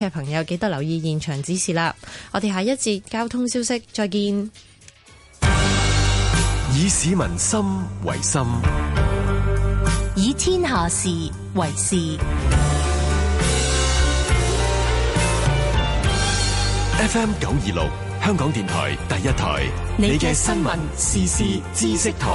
嘅朋友記得留意現場指示啦。我哋下一節交通消息再見。 以市民心為心， 以天下事為事。 FM 926香港電台第一台，你嘅新聞時事知識台。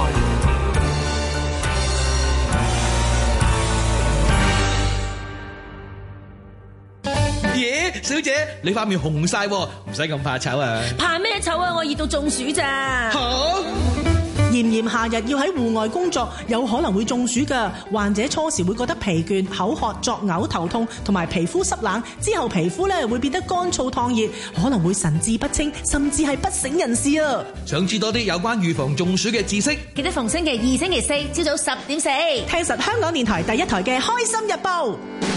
小姐，你塊面紅晒，唔使咁怕醜啊！ 怕咩醜啊？我熱到中暑咋？ 好， 炎炎夏日要喺戶外工作，有可能會中暑㗎。患者初時會覺得疲倦、口渴、作嘔、頭痛，同埋皮膚濕冷，之後皮膚咧會變得乾燥燙熱，可能會神志不清，甚至係不省人事啊！ 想知多啲有關預防中暑嘅知識， 記得逢星期二、星期四朝早10:4， 聽實香港電台第一台嘅《開心日報》。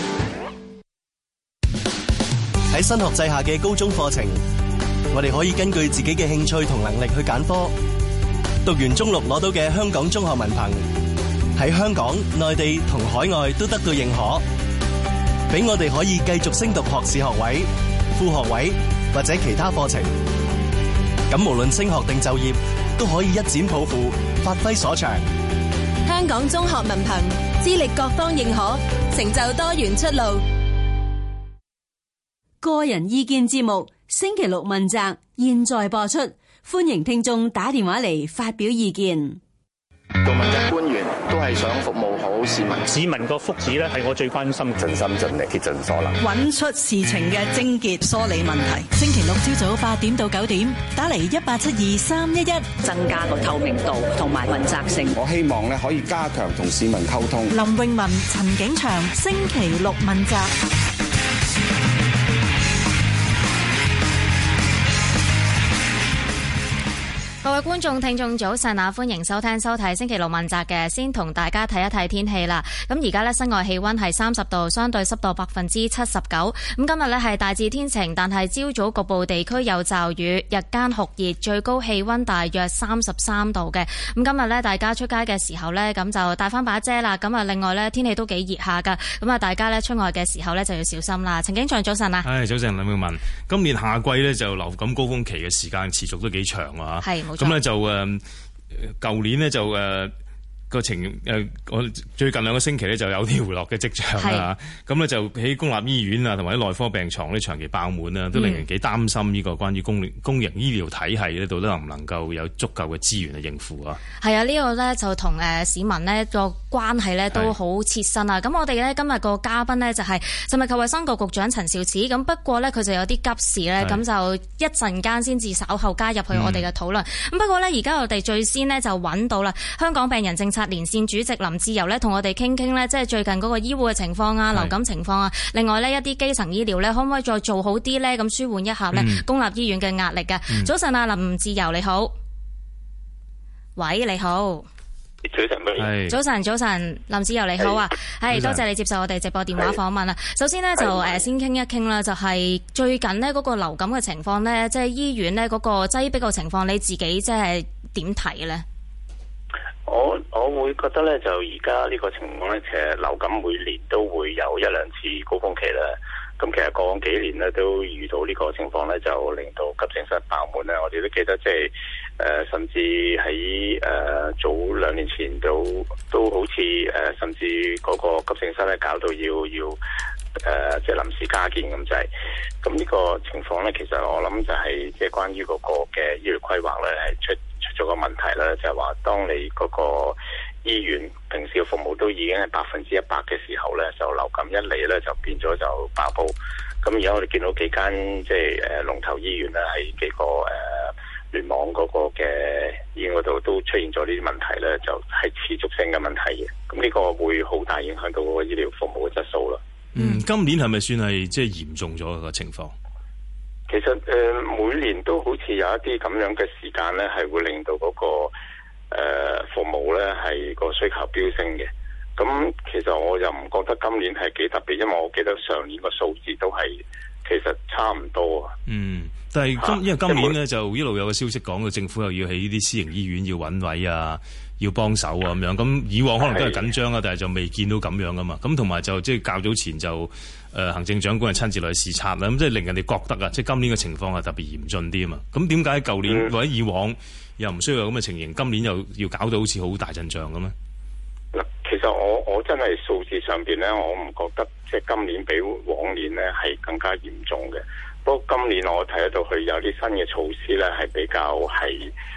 喺新學制下嘅高中課程，我哋可以根據自己嘅興趣同能力去揀科。讀完中六攞到嘅香港中學文憑，喺香港、內地同海外都得到認可，俾我哋可以繼續升讀學士學位、副學位或者其他課程。咁無論升學定就業，都可以一展抱負，發揮所長。 香港中學文憑，資歷各方認可，成就多元出路。 個人意見節目星期六問責，現在播出，歡迎聽眾打電話嚟發表意見。 做問責官員都係想服務好市民， 市民個福祉咧係我最關心， 盡心盡力竭盡所能， 揾出事情嘅症結，梳理問題。星期六朝早8點到9點，打嚟1872-311， 增加個透明度同埋問責性。 我希望咧可以加強同市民溝通。 林詠雯、陳景祥，星期六問責。 各位觀眾聽眾早晨啊，歡迎收聽收睇星期六問責嘅，先同大家睇一睇天氣啦。咁而家呢，室外氣溫係30度，相對濕度79%。咁今日呢係大致天晴，但係朝早局部地區有驟雨，日間酷熱，最高氣溫大約33度嘅。咁今日呢，大家出街嘅時候呢，咁就帶翻把遮啦。咁啊，另外呢，天氣都幾熱下噶。咁啊，大家呢，出外嘅時候呢，就要小心啦。陳景祥早晨啊， 早晨林詠雯。今年夏季呢，就流感高峰期嘅時間持續都幾長啊。 係。 咁咧就舊年呢，就個我最近2個星期咧就有啲回落嘅跡象啦。咁咧就喺公立醫院啊，同埋啲內科病床咧長期爆滿啦，都令人幾擔心呢個關於公營醫療體系呢度能唔能夠有足夠嘅資源去應付啊？係啊， 呢個咧就同市民呢個關係咧都好切身啊！咁我哋咧今日個嘉賓呢，就係食物及衛生局局長陳肇始。咁不過咧佢就有啲急事咧，咁就一陣間先至稍後加入去我哋嘅討論。咁不過咧而家我哋最先呢，就揾到啦香港病人政策連線主席林志釉咧，同我哋傾傾咧，即係最近嗰個醫護嘅情況啊、流感情況啊，另外呢，一啲基層醫療咧，可唔可以再做好啲咧？咁舒緩一下咧公立醫院嘅壓力嘅。早晨啊，林志釉你好，喂，你好。早晨，林志釉你好啊，係多謝你接受我哋直播電話訪問啦。首先呢，就先傾一傾啦，就係最近呢嗰個流感嘅情況呢，即係醫院呢嗰個擠迫嘅情況，你自己即係點睇呢？ 我會覺得咧，就而家呢個情況咧，其實流感每年都會有1-2次高峰期啦。咁其實過往幾年咧都遇到呢個情況咧，就令到急症室爆滿咧。我哋都記得即係甚至喺早2年前都好似甚至嗰個急症室咧搞到要即係臨時加建咁滯。咁呢個情況咧，其實我諗就係即係關於嗰個嘅醫療規劃咧係出咗個問題啦，就係話當你嗰個醫院平時嘅服務都已經係100%嘅時候咧，就流感一嚟咧就變咗就爆煲。咁而家我哋見到幾間即係龍頭醫院咧，喺幾個聯網嗰個嘅醫院嗰度都出現咗呢啲問題咧，就係持續性嘅問題嘅。咁呢個會好大影響到嗰個醫療服務嘅質素啦。 今年係咪算係即係嚴重咗個情況？ 其實每年都好似有一啲咁樣嘅時間咧，係會令到嗰個服務咧係個需求飆升嘅。咁其實我又唔覺得今年係幾特別，因為我記得上年個數字都係其實差唔多啊。 但係因為今年咧就一路有個消息講到政府又要喺呢啲私營醫院要揾位啊， 要幫手啊咁樣。咁以往可能都係緊張啊，但係就未見到咁樣噶嘛。咁同埋就即係較早前就行政長官係親自嚟視察啦，咁即係令人哋覺得啊，即係今年嘅情況係特別嚴峻啲啊嘛。咁點解舊年或者以往又唔需要有咁嘅情形，今年又要搞到好似好大陣仗咁咧？ 嗱，其實我真係數字上邊咧，我唔覺得即係今年比往年咧係更加嚴重嘅。不過今年我睇得到佢有啲新嘅措施咧，係比較係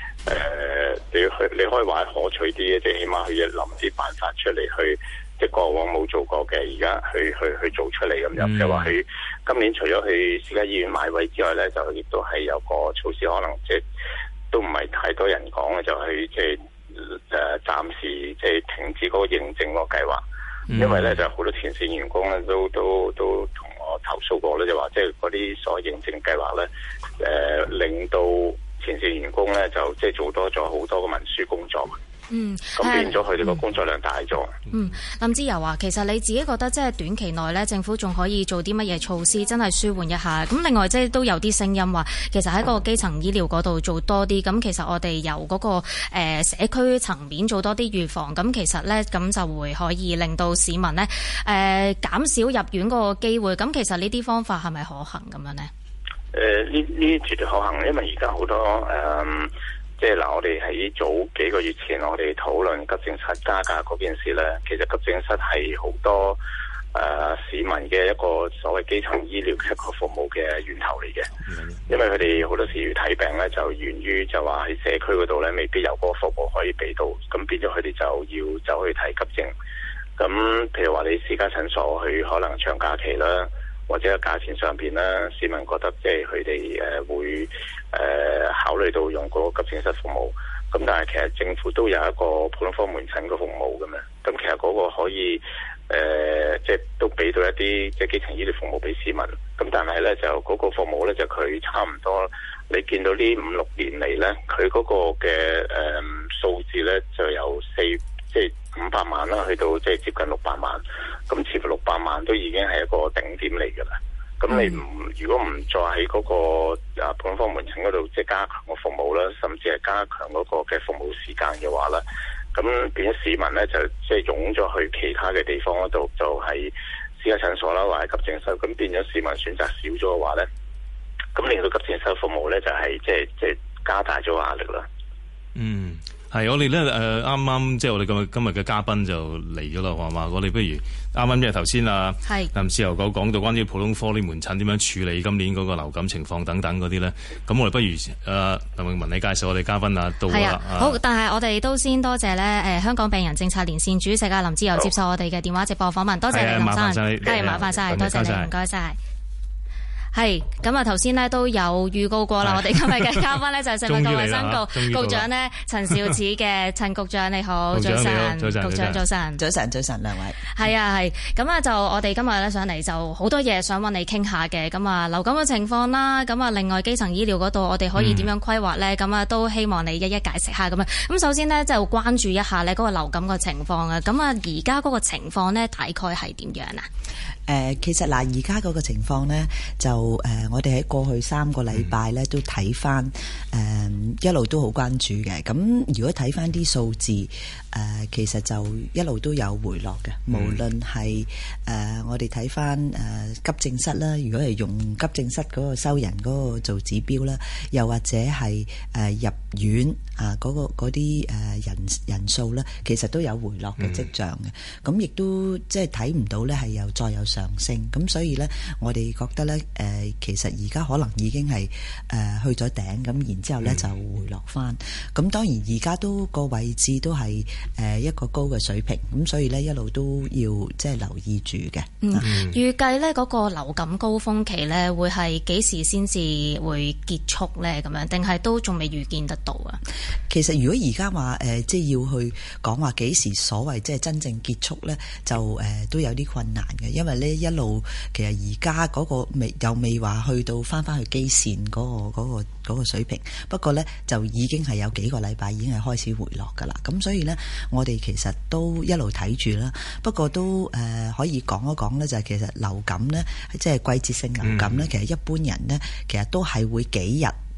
你可以話係可取啲嘅，即係起碼佢要諗啲辦法出嚟去，即係過往冇做過嘅，而家去做出嚟咁樣。譬如話佢今年除咗去私家醫院買位之外咧，就亦都係有個措施，可能即係都唔係太多人講嘅，就係即係暫時即係停止嗰個認證嗰個計劃。因為咧就好多前線員工咧都同我投訴過咧，就話即係嗰啲所謂認證計劃咧，令到前線員工咧就即係做多咗好多嘅文書工作。咁變咗佢哋個工作量大咗。 林志釉話，其實你自己覺得即係短期內咧，政府仲可以做啲乜嘢措施，真係舒緩一下？咁另外即係都有啲聲音話，其實喺個基層醫療嗰度做多啲。咁其實我哋由嗰個社區層面做多啲預防，咁其實咧咁就會可以令到市民咧減少入院嗰個機會。咁其實呢啲方法係咪可行咁樣呢？ 呢絕對可行，因為而家好多即係嗱，我哋喺早幾個月前，我哋討論急症室加價嗰件事咧，其實急症室係好多市民嘅一個所謂基層醫療嘅一個服務嘅源頭嚟嘅。因為佢哋好多時要睇病咧，就源於就話喺社區嗰度咧，未必有嗰個服務可以俾到，咁變咗佢哋就要走去睇急症。咁譬如話你私家診所去可能長假期啦，或者個價錢上邊咧，市民覺得即係佢哋會考慮到用嗰個急症室服務，咁但係其實政府都有一個普通科門診嘅服務嘅嘛，咁其實嗰個可以即係都俾到一啲即係基層醫療服務俾市民，咁但係咧就嗰個服務咧就佢差唔多，你見到呢5-6年嚟咧，佢嗰個嘅數字咧就由即係500萬啦，去到即係接近600萬，咁似乎600萬都已經係一個頂點嚟㗎啦。咁你如果唔再喺嗰個普通科門診嗰度即係加強個服務啦，甚至係加強嗰個嘅服務時間嘅話咧，咁變咗市民咧就即係湧咗去其他嘅地方嗰度，就係私家診所啦，或者急症室，咁變咗市民選擇少咗嘅話咧，咁令到急症室服務咧就係即係加大咗壓力啦。 係，我哋咧啱啱即係我哋今日嘅嘉賓就嚟咗啦，係嘛？我哋不如啱啱即係頭先林志釉講到關於普通科啲門診點樣處理今年嗰個流感情況等等嗰啲咧，咁我哋不如林詠雯你介紹我哋嘉賓到啦。 好，但係我哋都先多謝咧香港病人政策連線主席林志釉接受我哋嘅電話直播訪問，多謝你林生，係麻煩晒，多謝你，唔該晒。係咁啊！頭先咧都有預告過啦，我哋今日嘅嘉賓咧就係食物及衛生局局長咧陳肇始嘅陳局長，你好，早晨，局長早晨， 早晨，兩位。 係啊，係咁啊！就我哋今日咧上嚟就好多嘢想揾你傾下嘅，咁啊流感嘅情況啦，咁啊另外基層醫療嗰度我哋可以點樣規劃咧？咁啊都希望你一一解釋下咁啊。咁首先呢，就關注一下呢嗰個流感嘅情況啊。咁啊而家嗰個情況呢，大概係點樣啊？ 其實嗱，而家嗰個情況呢，就我哋喺過去3個禮拜呢都睇翻，一路都好關注嘅。咁如果睇翻啲數字，其實就一路都有回落嘅。無論係我哋睇翻急症室啦，如果係用急症室嗰個收人嗰個做指標啦，又或者係入院嗰啲人數咧，其實都有回落嘅跡象嘅。咁亦都即係睇唔到咧係再有上升。咁所以咧，我哋覺得咧其實而家可能已經係去咗頂，咁然之後咧就回落翻。咁當然而家都個位置都係一個高嘅水平，咁所以咧一路都要即係留意住嘅。 預計咧嗰個流感高峰期咧會係幾時先至會結束咧？咁樣定係都仲未預見得到啊？ 其實如果而家話即係要去講話幾時所謂即係真正結束咧，就都有啲困難嘅，因為咧一路其實而家嗰個又未話去到翻去基線嗰個水平，不過咧就已經係有幾個禮拜已經係開始回落㗎啦。咁所以咧，我哋其實都一路睇住啦。不過都可以講一講咧，就係其實流感咧，即係季節性流感咧，其實一般人咧，其實都係會幾日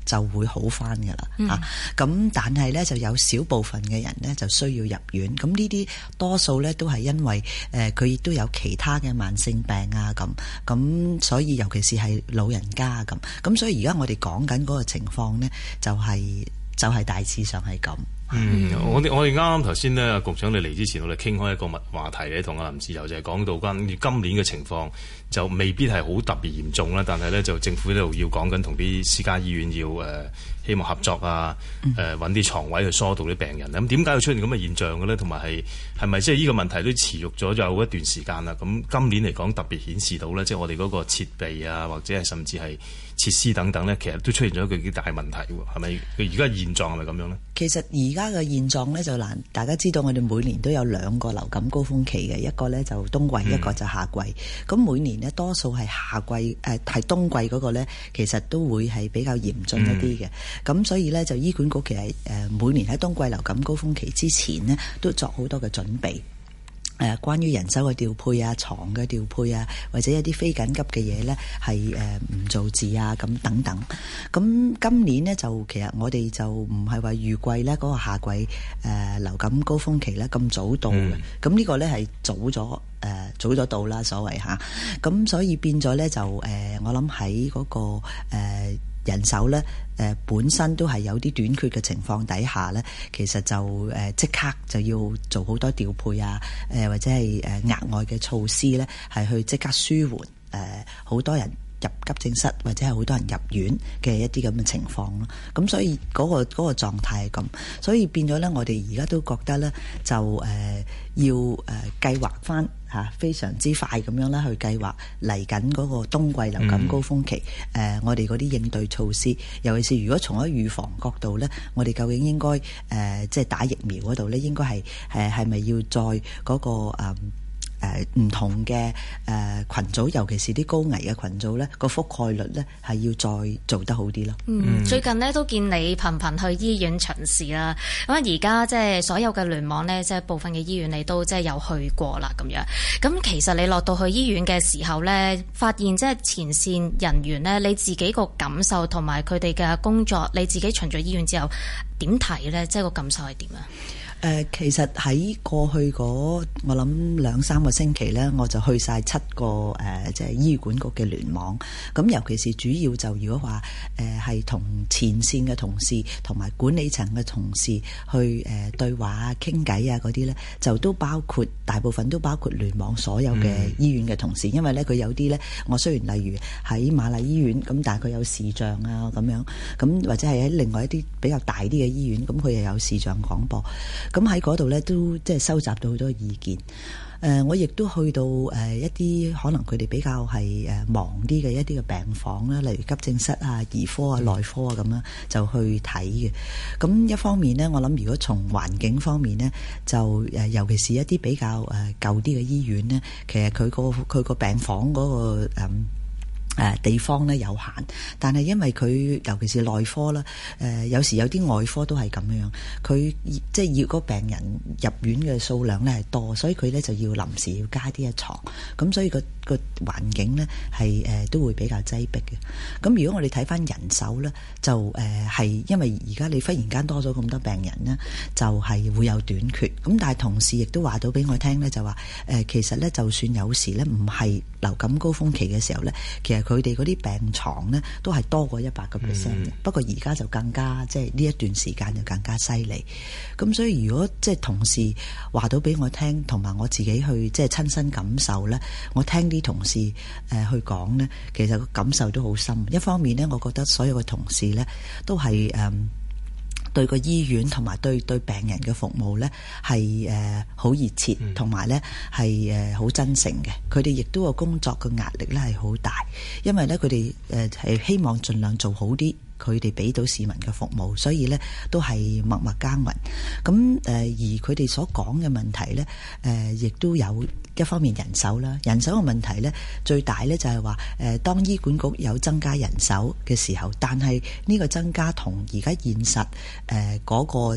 就會好翻㗎啦。咁但係咧就有少部分嘅人咧就需要入院。咁呢啲多數咧都係因為佢亦都有其他嘅慢性病啊咁所以尤其是係老人家咁所以而家我哋講緊嗰個情況咧就係大致上係咁。 我哋啱啱頭先咧，局長你嚟之前，我哋傾開一個話題咧，同阿林志釉就係講到關於今年嘅情況，就未必係好特別嚴重啦。但係咧，就政府呢度要講緊同啲私家醫院要希望合作啊，揾啲床位去疏導啲病人。咁點解會出現咁嘅現象嘅咧？同埋係咪即係呢個問題都持續咗有一段時間啦？咁今年嚟講特別顯示到咧，即係我哋嗰個設備啊，或者係甚至係設施等等咧，其實都出現咗一個幾大問題喎。係咪？佢而家現狀係咪咁樣咧？ 其實而家嘅現狀咧就難，大家知道我哋每年都有2個流感高峰期嘅，一個咧就冬季，一個就夏季。咁每年呢，多數係夏季係冬季嗰個咧，其實都會係比較嚴峻一啲嘅。咁所以咧就醫管局其實每年喺冬季流感高峰期之前呢，都作好多嘅準備。關於人手嘅調配啊、床嘅調配啊，或者一啲非緊急嘅嘢呢，係唔做字啊咁等等。咁今年呢，就其實我哋就唔係話預計呢嗰個夏季流感高峰期呢咁早到嘅。咁呢個呢係早咗到啦，所謂嚇。咁所以變咗呢，就我諗喺嗰個人手咧，本身都係有啲短缺嘅情況底下咧，其實就即刻就要做好多調配啊，或者係額外嘅措施咧，係去即刻舒緩好多人入急症室或者係好多人入院嘅一啲咁嘅情況咯。咁所以嗰個狀態係咁，所以變咗咧，我哋而家都覺得咧，就要計劃翻非常之快咁樣咧去計劃嚟緊嗰個冬季流感高峰期，我哋嗰啲應對措施，尤其是如果從一預防角度咧，我哋究竟應該即係打疫苗嗰度咧，應該係咪要再嗰個唔同嘅群組，尤其是啲高危嘅群組咧，個覆蓋率咧係要再做得好啲咯。 最近呢，都見你頻頻去醫院巡視啦。咁而家即係所有嘅聯網呢，即係部分嘅醫院你都即係有去過啦咁樣。咁其實你落到去醫院嘅時候呢，發現即係前線人員呢，你自己個感受同埋佢哋嘅工作，你自己巡咗醫院之後點睇呢？即係個感受係點啊？ 其實喺過去嗰我諗2-3個星期呢，我就去晒7個即係醫管局嘅聯網。咁尤其是主要就如果話係同前線嘅同事同埋管理層嘅同事去對話啊、傾偈啊嗰啲呢，就都包括大部分都包括聯網所有嘅醫院嘅同事。因為呢，佢有啲呢，我雖然例如喺瑪麗醫院咁，但係佢有視像啊咁樣，咁或者係喺另外一啲比較大啲嘅醫院，咁佢又有視像廣播。咁喺嗰度咧，都即係收集到好多意見。我亦都去到一啲可能佢哋比較係忙啲嘅一啲嘅病房啦，例如急症室啊、兒科啊、內科啊咁樣，就去睇嘅。咁一方面呢，我諗如果從環境方面呢，就尤其是一啲比較舊啲嘅醫院呢，其實佢個病房嗰個地方咧有限，但係因為佢尤其是內科啦，有時有啲外科都係咁樣，佢即係要個病人入院嘅數量咧係多，所以佢咧就要臨時要加啲床，咁所以個環境咧係都會比較擠迫嘅。咁如果我哋睇翻人手咧，就係因為而家你忽然間多咗咁多病人咧，就係會有短缺。咁但係同事亦都話到俾我聽咧，就話其實咧就算有時咧唔係流感高峰期嘅時候咧，其實佢哋嗰啲病床咧都係多過100%嘅。不過而家就更加即係呢一段時間就更加犀利。咁所以如果即係同事話到俾我聽，同埋我自己去即係親身感受咧，我聽啲同事去講咧，其實個感受都好深。一方面咧，我覺得所有嘅同事咧都係對個醫院同埋對病人嘅服務呢係好熱切，同埋呢係好真誠嘅。佢哋亦都個工作嘅壓力呢係好大，因為呢佢哋係希望盡量做好啲佢哋俾到市民嘅服務，所以呢都係默默耕耘。咁而佢哋所講嘅問題呢，亦都有一方面人手啦。人手嘅問題呢，最大呢就係話當醫管局有增加人手嘅時候，但係呢個增加同而家現實嗰個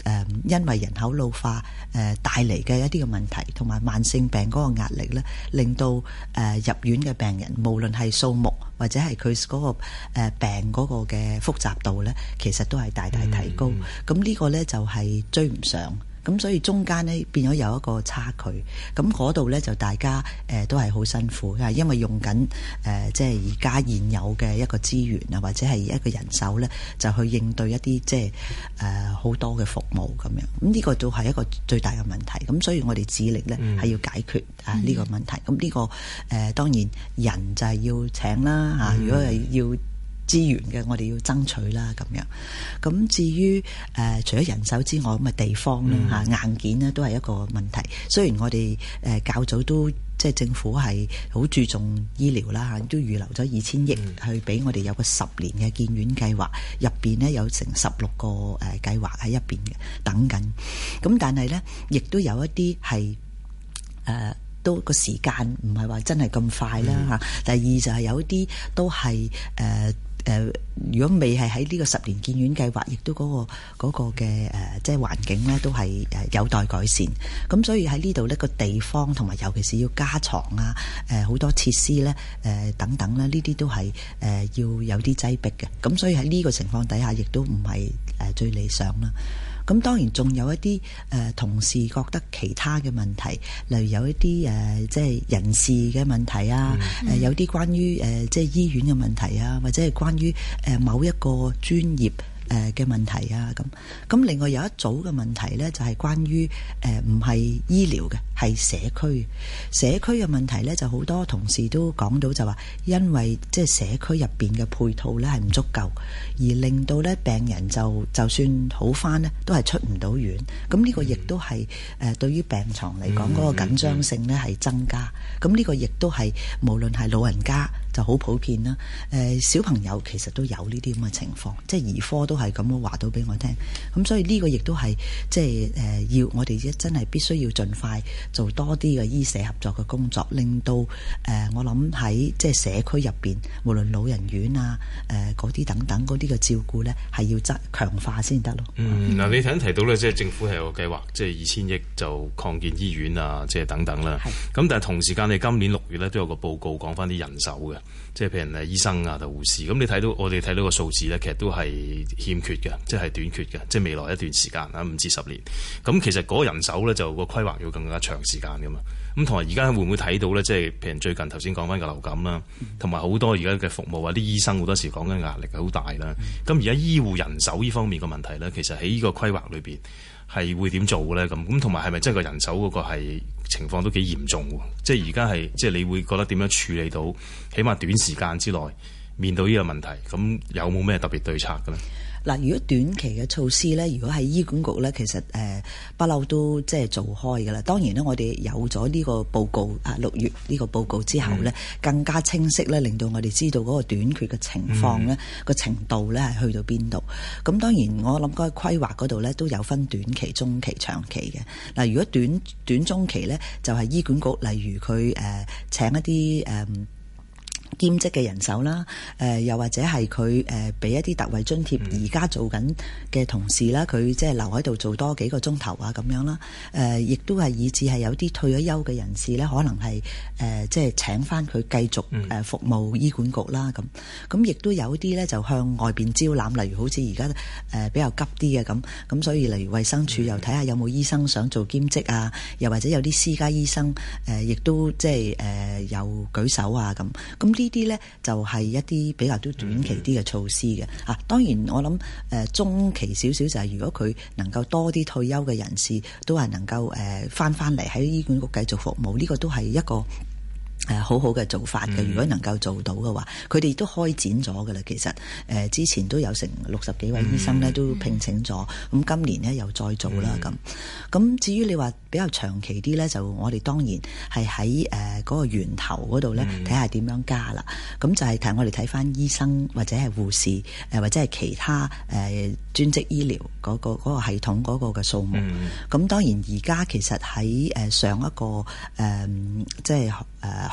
因為人口老化帶嚟嘅一啲嘅問題，同埋慢性病嗰個壓力咧，令到入院嘅病人無論係數目或者係佢嗰個病嗰個嘅複雜度咧，其實都係大大提高。咁呢個咧就係追唔上。咁所以中間呢變咗有一個差距，咁嗰度呢就大家都係好辛苦，因為用緊即係而家現有嘅一個資源啊，或者係一個人手呢，就去應對一啲即係好多嘅服務咁樣。咁呢個都係一個最大嘅問題。咁所以我哋致力呢係要解決呢個問題。咁呢個當然人就係要請啦嚇，如果係要資源嘅，我哋要爭取啦咁樣。咁至於除咗人手之外，咁地方啦嚇，硬件呢都係一個問題。雖然我哋較早都即係政府係好注重醫療啦嚇，都預留咗2000億去俾我哋有個10年嘅建院計劃，入邊呢有成16個計劃喺入邊嘅等緊。咁但係呢，亦都有一啲係都個時間唔係話真係咁快啦嚇。第二就係有啲都係如果未係喺呢個10年建院計劃，亦都嗰個嘅即係環境咧，都係有待改善。咁所以喺呢度呢個地方同埋尤其是要加床啊，好多設施咧，等等咧，呢啲都係要有啲擠迫嘅。咁所以喺呢個情況底下，亦都唔係最理想啦。咁當然仲有一啲同事覺得其他嘅問題，例如有一啲即係人事嘅問題啊，有啲關於即係醫院嘅問題啊，或者係關於某一個專業嘅問題啊，咁另外有一組嘅問題呢，就係關於唔係醫療嘅，係社區嘅問題呢，就好多同事都講到就話，因為即係社區入邊嘅配套呢係唔足夠，而令到呢病人就算好返呢，都係出唔到院。咁呢個亦都係對於病床嚟講嗰個緊張性呢係增加。咁呢個亦都係無論係老人家就好普遍啦，小朋友其實都有呢啲咁嘅情況，即係兒科都係咁樣話到俾我聽。咁所以呢個亦都係即係要我哋真係必須要盡快做多啲嘅醫社合作嘅工作，令到我諗喺即係社區入邊，無論老人院啊嗰啲等等嗰啲嘅照顧呢，係要強化先得咯。 嗱，你頭先提到呢，即係政府係有個計劃，即係2000億就擴建醫院啊，即係等等啦。咁但係同時間你今年6月呢，都有個報告講翻啲人手嘅。即係譬如醫生啊同護士，咁你睇到我哋睇到個數字咧，其實都係欠缺嘅，即係短缺嘅，即係未來一段時間啊5至10年。咁其實嗰個人手咧就個規劃要更加長時間噶嘛。咁同埋而家會唔會睇到咧？即係譬如最近頭先講翻個流感啦，同埋好多而家嘅服務啊，啲醫生好多時講緊壓力係好大啦。咁而家醫護人手呢方面嘅問題咧，其實喺呢個規劃裏邊係會點做咧？咁同埋係咪真係個人手嗰個係情況都幾嚴重喎？即係而家係即係你會覺得點樣處理到？起碼短時間之內面對呢個問題，咁有冇咩特別對策嘅咧？ 嗱，如果短期嘅措施咧，如果係醫管局咧，其實不嬲都即係做開㗎啦。當然咧，我哋有咗呢個報告6月呢個報告之後咧，更加清晰咧，令到我哋知道嗰個短缺嘅情況咧，個程度咧係去到邊度。咁當然我諗嗰個規劃嗰度咧都有分短期、中期、長期嘅。嗱，如果短中期咧，就係醫管局，例如佢請一啲兼職嘅人手啦，又或者係佢俾一啲特惠津貼，而家做緊嘅同事啦，佢即係留喺度做多幾個鐘頭啊咁樣啦。亦都係以至係有啲退咗休嘅人士咧，可能係即係請翻佢繼續服務醫管局啦咁。咁亦都有啲咧就向外邊招攬，例如好似而家比較急啲嘅咁，所以例如衛生署又睇下有冇醫生想做兼職啊，又或者有啲私家醫生亦都即係有舉手啊咁。呢啲呢就係一啲比較都短期啲嘅措施嘅。當然我諗中期少少就係如果佢能夠多啲退休嘅人士都係能夠翻嚟喺醫管局繼續服務，呢個都係一個好好嘅做法嘅。如果能夠做到嘅話，佢哋都開展咗㗎啦。其實之前都有成60幾位醫生呢都聘請咗，咁今年呢又再做啦咁。至於你話比較長期啲呢，就我哋當然係喺嗰個源頭嗰度呢睇下點樣加啦。咁就係睇我哋睇翻醫生或者係護士或者係其他專職醫療嗰個系統嗰個嘅數目。咁當然而家其實喺上一個即係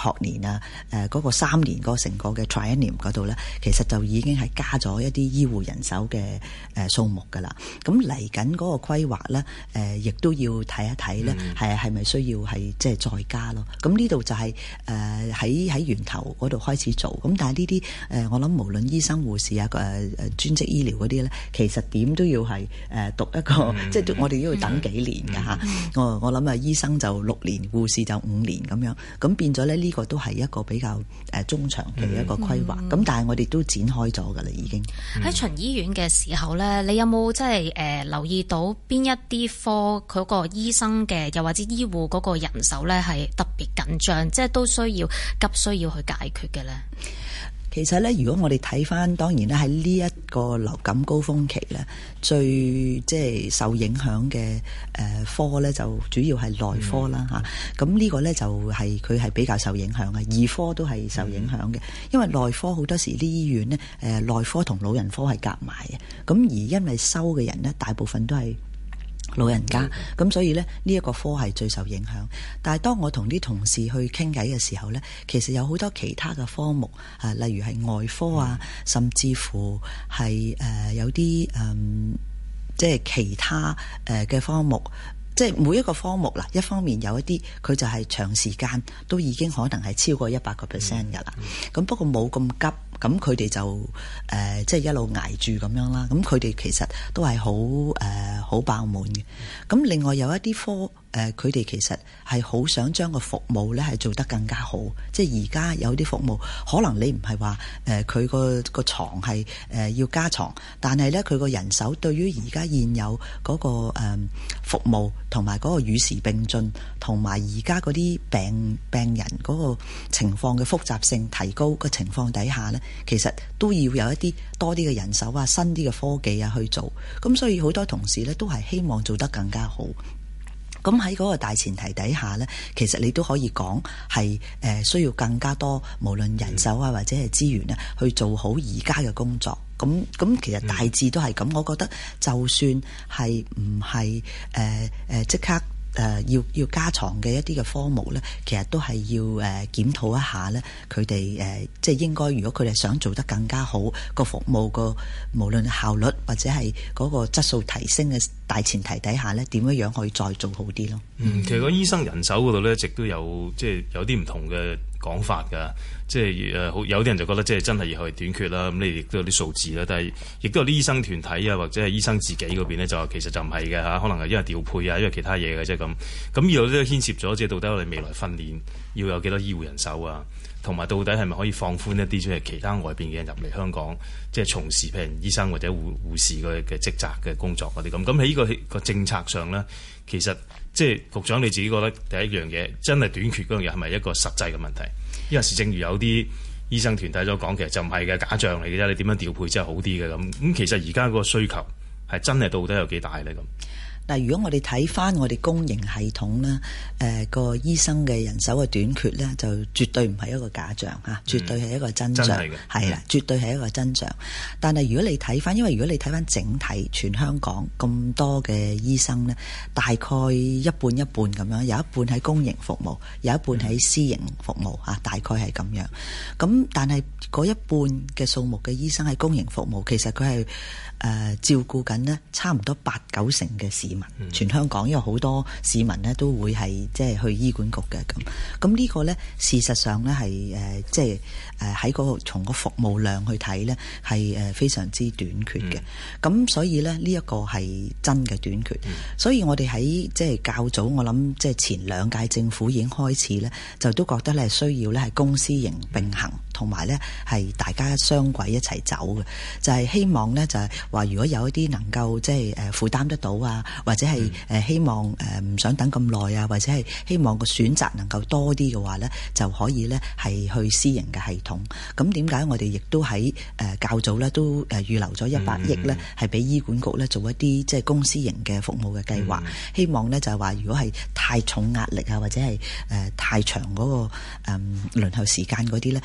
學年啊嗰個3年嗰成個嘅 triennium 嗰度咧，其實就已經係加咗一啲醫護人手嘅數目㗎啦。咁嚟緊嗰個規劃咧，亦都要睇一睇咧，係咪需要係即係再加咯？咁呢度就係喺源頭嗰度開始做。咁但係呢啲我諗無論醫生護士啊專職醫療嗰啲咧，其實點都要係讀一個，即係我哋都要等幾年㗎嚇。我諗醫生就6年，護士就5年咁樣。咁變咗咧，呢個都係一個比較中長期嘅一個規劃。咁但係我哋都展開咗㗎啦，已經喺巡醫院嘅時候咧，你有冇即係留意到邊一啲科佢個醫生嘅又或者醫護嗰個人手咧係特別緊張，即係都需要去解決嘅咧？ 其實咧，如果我哋睇翻，當然咧喺呢一個流感高峰期咧，最即係受影響嘅科咧，就主要係內科啦嚇。咁呢個咧就係佢係比較受影響嘅，兒科都係受影響嘅，因為內科好多時啲醫院咧內科同老人科係夾埋嘅，咁而因為收嘅人咧大部分都係老人家，咁所以咧呢一個科係最受影響。但係當我同啲同事去傾偈嘅時候咧，其實有好多其他嘅科目例如係外科啊，甚至乎係有啲即係其他嘅科目。即係每一個科目啦，一方面有一啲佢就係長時間都已經可能係超過100% 㗎啦。咁不過冇咁急，咁佢哋就即係一路捱住咁樣啦。咁佢哋其實都係好爆滿嘅。咁另外有一啲科佢哋其實係好想將個服務咧係做得更加好。即係而家有啲服務可能你唔係話佢個床係要加床，但係咧佢個人手對於而家現有嗰個服務同埋嗰個與時並進，同埋而家嗰啲病人嗰個情況嘅複雜性提高嘅情況底下呢，其實都要有一啲多啲嘅人手啊、新啲嘅科技啊去做。咁所以好多同事呢都係希望做得更加好。咁喺嗰個大前提底下呢，其實你都可以講係需要更加多，無論人手啊或者係資源去做好而家嘅工作。咁其實大致都係咁。我覺得就算係唔係即刻要加床嘅一啲嘅科目呢，其實都係要檢討一下呢。佢哋即係應該，如果佢哋想做得更加好，個服務個無論效率或者係嗰個質素提升嘅大前提底下呢，點樣可以再做好啲咯？ 其實個醫生人手嗰度呢，一直都有即係有啲唔同嘅講法㗎。即係有啲人就覺得即係真係要去短缺啦。咁你亦都有啲數字啦，但係亦都有啲醫生團體啊，或者係醫生自己嗰邊呢，就話其實就唔係嘅嚇，可能係因為調配啊，因為其他嘢嘅啫咁。咁呢度都牽涉咗，即係到底我哋未來訓練要有幾多醫護人手啊，同埋到底係咪可以放寬一啲即係其他外邊嘅人入嚟香港，即係從事譬如醫生或者護士嘅職責嘅工作嗰啲咁。咁喺呢個政策上呢，其實即係局長你自己覺得第一樣嘢真係短缺嗰樣嘢係咪一個實際嘅問題？因為正如有啲醫生團體所講，其實就唔係嘅，假象嚟嘅啫。你點樣調配真係好啲嘅咁。咁其實而家嗰個需求係真係到底有幾大咧咁？ 嗱，如果我哋睇翻我哋公營系統咧，個醫生嘅人手嘅短缺咧，就絕對唔係一個假象嚇，絕對係一個真相，係啦，絕對係一個真相。但係如果你睇翻，因為如果你睇翻整體全香港咁多嘅醫生咧，大概一半一半咁樣，有一半喺公營服務，有一半喺私營服務嚇，大概係咁樣。咁但係嗰一半嘅數目嘅醫生喺公營服務，其實佢係照顧緊呢差唔多8-9成嘅市民，全香港因為好多市民呢都會係即係去醫管局嘅咁。咁呢個呢事實上呢係即係喺嗰個從個服務量去睇呢係非常之短缺嘅。咁所以呢一個係真嘅短缺。所以我哋喺即係較早，我諗即係前2屆政府已經開始呢，就都覺得呢需要呢係公私營並行，同埋呢係大家雙軌一齊走嘅，就係希望呢就係話如果有一啲能夠即係負擔得到啊，或者係希望唔想等咁耐啊，或者係希望個選擇能夠多啲嘅話呢，就可以呢係去私營嘅系統。咁點解我哋亦都喺較早呢都預留咗100億呢，係俾醫管局呢做一啲即係公私營嘅服務嘅計劃。希望呢就係話如果係太重壓力啊，或者係太長嗰個輪候時間嗰啲呢，係可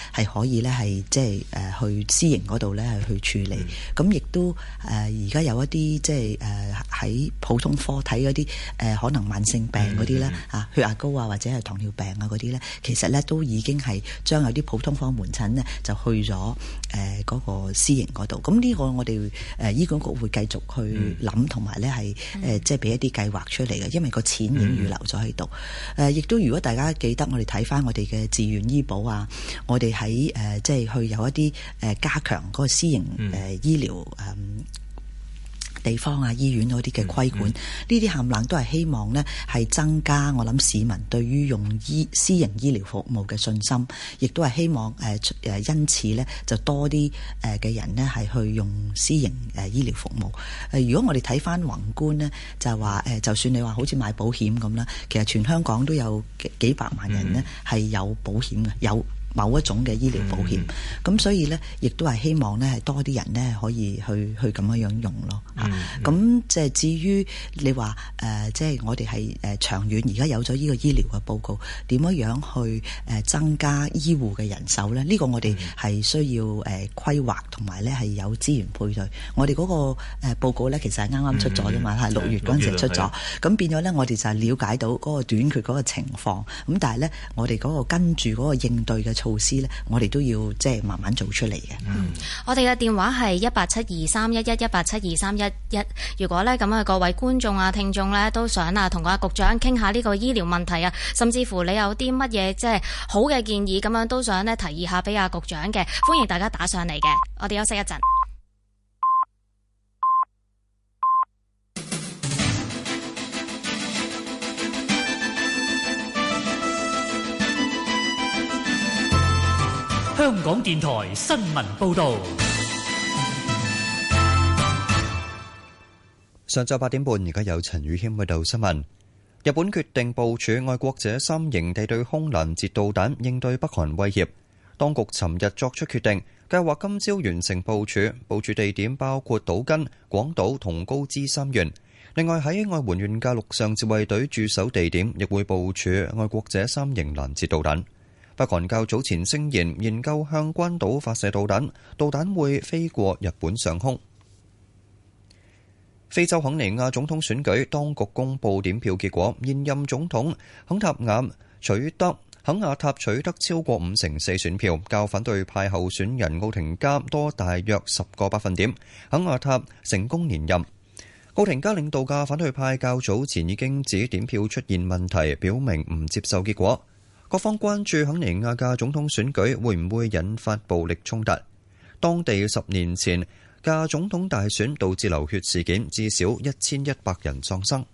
以咧係即係去私營嗰度咧係去處理。咁亦都而家有一啲即係喺普通科睇嗰啲可能慢性病嗰啲咧血壓高啊或者係糖尿病啊嗰啲咧，其實咧都已經係將有啲普通科門診咧就去咗嗰個私營嗰度。咁呢個我哋醫管局會繼續去諗，同埋咧係即係俾一啲計劃出嚟嘅，因為個錢已經預留咗喺度。亦都如果大家記得我哋睇翻我哋嘅自願醫保啊，我哋喺即係去有一啲加強嗰個私營醫療地方啊醫院嗰啲嘅規管，呢啲冚唪唥都係希望呢係增加我諗市民對於用私營醫療服務嘅信心，亦都係希望因此呢就多啲嘅人呢係去用私營醫療服務。如果我哋睇翻宏觀呢，就係話就算你話好似買保險咁啦，其實全香港都有幾百萬人呢係有保險嘅，有某一種嘅醫療保險，咁所以呢，亦都係希望呢係多啲人呢可以去咁樣用咯嚇。咁即係至於你話即係我哋係長遠而家有咗呢個醫療嘅報告，點樣去增加醫護嘅人手呢？呢個我哋係需要規劃同埋呢係有資源配對。我哋嗰個報告呢，其實係啱啱出咗啫嘛，係6月嗰陣時出咗。咁變咗呢，我哋就係了解到嗰個短缺嗰個情況。咁但係呢，我哋嗰個跟住嗰個應對嘅措施呢，我哋都要即係慢慢做出嚟嘅。 我哋嘅電話係1872311，1872311。如果呢咁啊，各位觀眾啊、聽眾呢，都想啊同個局長傾下呢個醫療問題啊，甚至乎你有啲乜嘢即係好嘅建議咁樣，都想呢提議下俾阿局長嘅，歡迎大家打上嚟嘅。我哋休息一陣。 香港電台新聞報導。 上晝8點半，而家有陳宇謙報道新聞。日本決定部署愛國者3型地對空攔截導彈，應對北韓威脅。當局尋日作出決定，計劃今朝完成部署，部署地點包括島根、廣島同高知3縣。另外喺愛媛縣嘅陸上自衛隊駐守地點，亦會部署愛國者3型攔截導彈。北韓較早前聲言研究向關島發射導彈，導彈會飛過日本上空。非洲肯尼亞總統選舉當局公布點票結果，現任總統肯亞塔取得超過54%選票，較反對派候選人奧廷加多大約10個百分點。肯亞塔成功連任。奧廷加領導嘅反對派較早前已經指點票出現問題，表明唔接受結果。各方關注肯尼亞嘅總統選舉會唔會引發暴力衝突。當地10年前嘅總統大選導致流血事件，至少1100人喪生。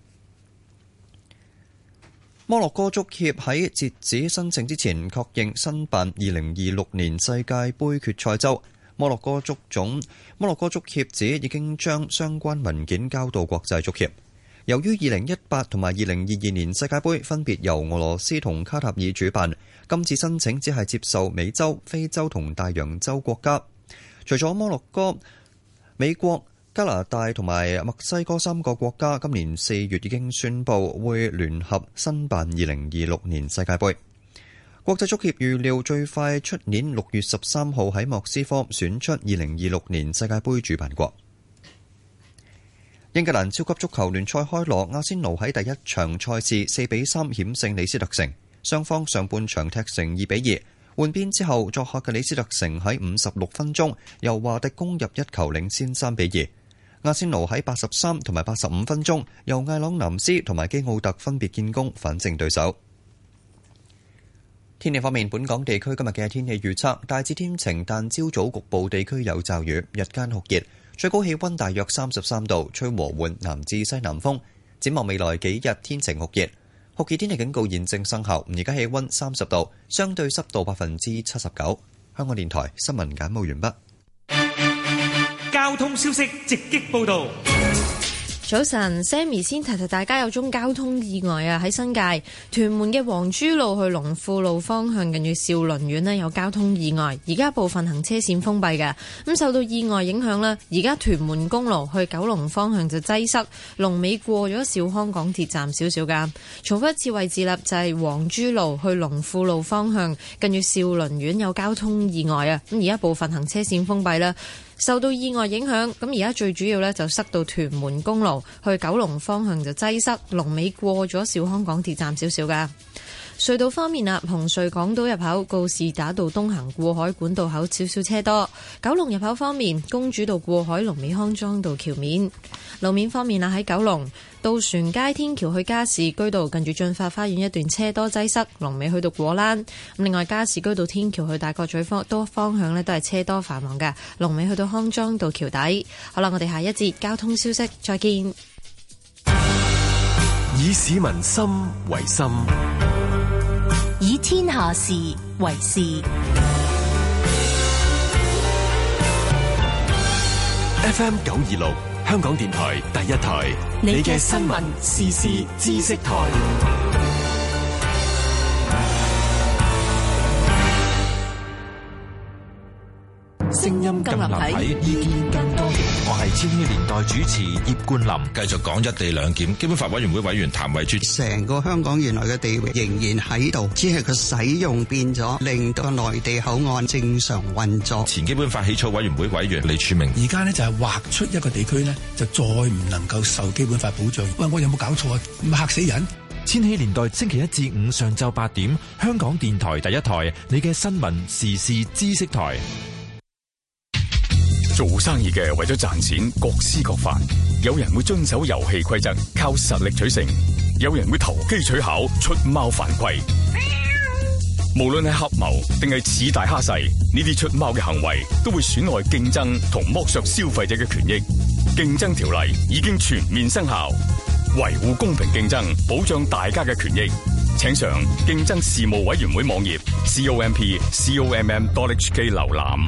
摩洛哥足協喺截止申請之前確認申辦2026年世界盃決賽周。摩洛哥足協指已經將相關文件交到國際足協。由於2018同埋2022年世界盃分別由俄羅斯同卡塔爾主辦，今次申請只係接受美洲、非洲同大洋洲國家。除咗摩洛哥、美國、加拿大同埋墨西哥3個國家，今年4月已經宣布會聯合申辦2026年世界盃。國際足協預料最快出年6月13號喺莫斯科選出2026年世界盃主辦國。英格蘭超級足球聯賽開鑼，阿仙奴喺第一場賽事4-3險勝李斯特城，雙方上半場踢成2-2。換邊之後，作客嘅李斯特城喺56分鐘由華迪攻入一球領先3-2。阿仙奴喺83同埋85分鐘由艾朗南斯同埋基奧特分別建功反勝對手。天氣方面，本港地區今日嘅天氣預測大致天晴，但朝早局部地區有驟雨，日間酷熱，最高氣溫大約33度，吹和緩南至西南風。展望未來幾日天晴酷熱，酷熱天氣警告現正生效。而家氣溫30度，相對濕度79%。香港電台新聞簡報完畢。 交通消息直擊報道。 早晨 ，Sammy 先提大家有宗交通意外啊！喺新界屯門嘅黃珠路去龍富路方向，近住兆麟苑呢有交通意外，而家部分行車線封閉嘅。咁受到意外影響呢，而家屯門公路去九龍方向就擠塞，龍尾過咗兆康港鐵站少少噶。重複一次位置啦，就係黃珠路去龍富路方向，近住兆麟苑有交通意外啊！咁而家部分行車線封閉啦。受到意外影響，咁而家最主要呢就塞到屯門公路去九龍方向就擠塞，龍尾過咗兆康港鐵站少少噶。隧道方面啊，紅隧港島入口告士打道東行過海管道口少少車多。九龍入口方面，公主道過海龍尾康莊道橋面。路面方面啊，喺九龍渡船街天橋去加士居道近住駿發花園一段車多擠塞，龍尾去到果欄。咁另外加士居道天橋去大角咀方向呢都係車多繁忙嘅，龍尾去到康莊道橋底。好啦，我哋下一節交通消息再見。 以市民心為心， 以天下事為事。 FM 926香港電台第一台，你嘅新聞時事知識台。 聲音更立體，意見更多元。我係千禧年代主持葉冠霖，繼續講一地兩檢。基本法委員會委員譚惠珠， 成個香港原來嘅地位仍然喺度，只係佢使用變咗，令到內地口岸正常運作。 前基本法起草委員會委員李柱銘， 而家呢就係劃出一個地區呢，就再唔能夠受基本法保障。喂，我有冇搞錯啊？咁嚇死人！ 千禧年代星期一至五上晝8點，香港電台第一台，你嘅新聞時事知識台。 做生意嘅為咗賺錢各施各法，有人會遵守遊戲規則，靠實力取勝；有人會投機取巧，出貓犯規。無論係合謀定係恃大蝦細，呢啲出貓嘅行為都會損害競爭同剝削消費者嘅權益。競爭條例已經全面生效，維護公平競爭，保障大家嘅權益。請上競爭事務委員會網頁 COMP.com.hk 瀏覽。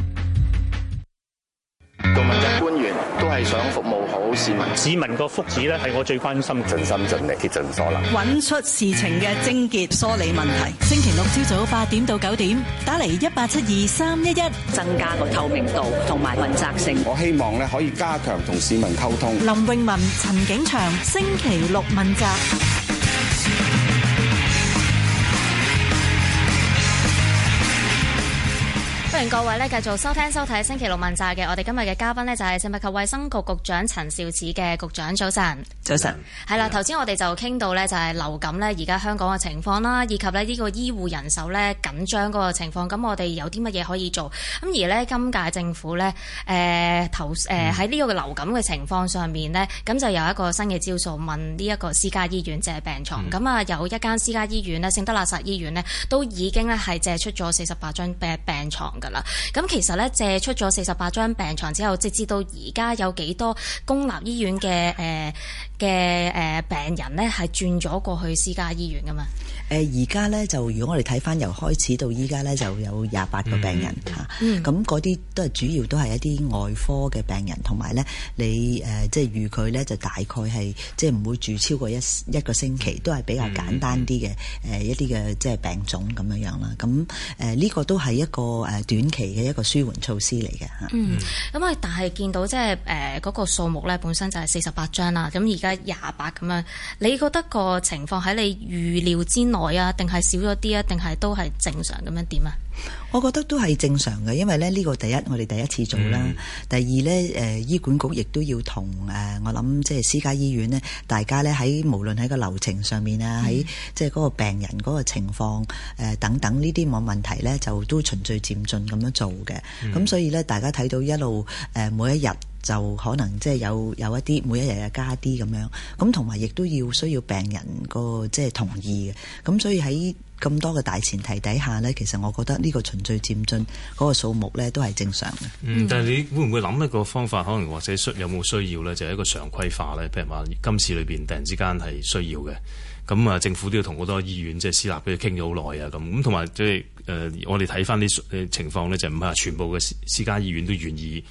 做問責官員都係想服務好市民， 市民個福祉咧係我最關心， 盡心盡力竭盡所能， 揾出事情嘅症結，梳理問題。星期六朝早8點到9點，打嚟1872-311， 增加個透明度同埋問責性。 我希望咧可以加強同市民溝通。 林詠雯、陳景祥，星期六問責。 歡迎各位咧繼續收聽收睇星期六問責嘅，我哋今日嘅嘉賓呢，就係食物及衛生局局長陳肇始嘅局長，早晨。 早晨。 係啦，頭先我哋就傾到呢，就係流感呢，而家香港嘅情況啦，以及呢個醫護人手呢緊張嗰個情況，咁我哋有啲乜嘢可以做？咁而呢，今屆政府呢，喺呢個流感嘅情況上面呢，咁就有一個新嘅招數，問呢一個私家醫院借病床。咁啊有一間私家醫院呢，聖德肋撒醫院呢，都已經呢係借出咗48張病床。咁其實咧借出咗48張病床之後，直至到而家有幾多公立醫院嘅病人咧係轉咗過去私家醫院噶嘛？ 而家咧就如果我哋睇翻由開始到依家咧就有28個病人嚇，咁嗰啲都係主要都係一啲外科嘅病人，同埋咧你即係預佢咧就大概係即係唔會住超過一個星期，都係比較簡單啲嘅一啲嘅即係病種咁樣樣啦。咁呢個都係一個短期嘅一個舒緩措施嚟嘅嚇。 咁啊，但係見到即係嗰個數目咧本身就係48張啦，咁而家28咁樣，你覺得個情況喺你預料之內啊，定係少咗啲啊，定係都係正常咁樣點啊？ 我覺得都係正常嘅，因為咧呢個第一我哋第一次做啦，第二咧醫管局亦都要同我諗即係私家醫院呢，大家咧喺無論喺個流程上面啊，喺即係嗰個病人嗰個情況等等呢啲冇問題咧，就都循序漸進咁樣做嘅。咁所以咧大家睇到一路每一日就可能即係有一啲每一日又加啲咁樣，咁同埋亦都需要病人個即係同意嘅。咁所以喺咁多嘅大前提底下呢，其實我覺得呢個循序漸進嗰個數目呢都係正常嘅。 但係你會唔會諗一個方法，可能或者有冇需要呢？就係一個常規化呢？譬如話今次裏邊突然之間係需要嘅，咁啊政府都要同好多醫院即係私立嘅傾咗好耐啊，咁同埋即係我哋睇翻啲情況呢，就唔係話全部嘅私家醫院都願意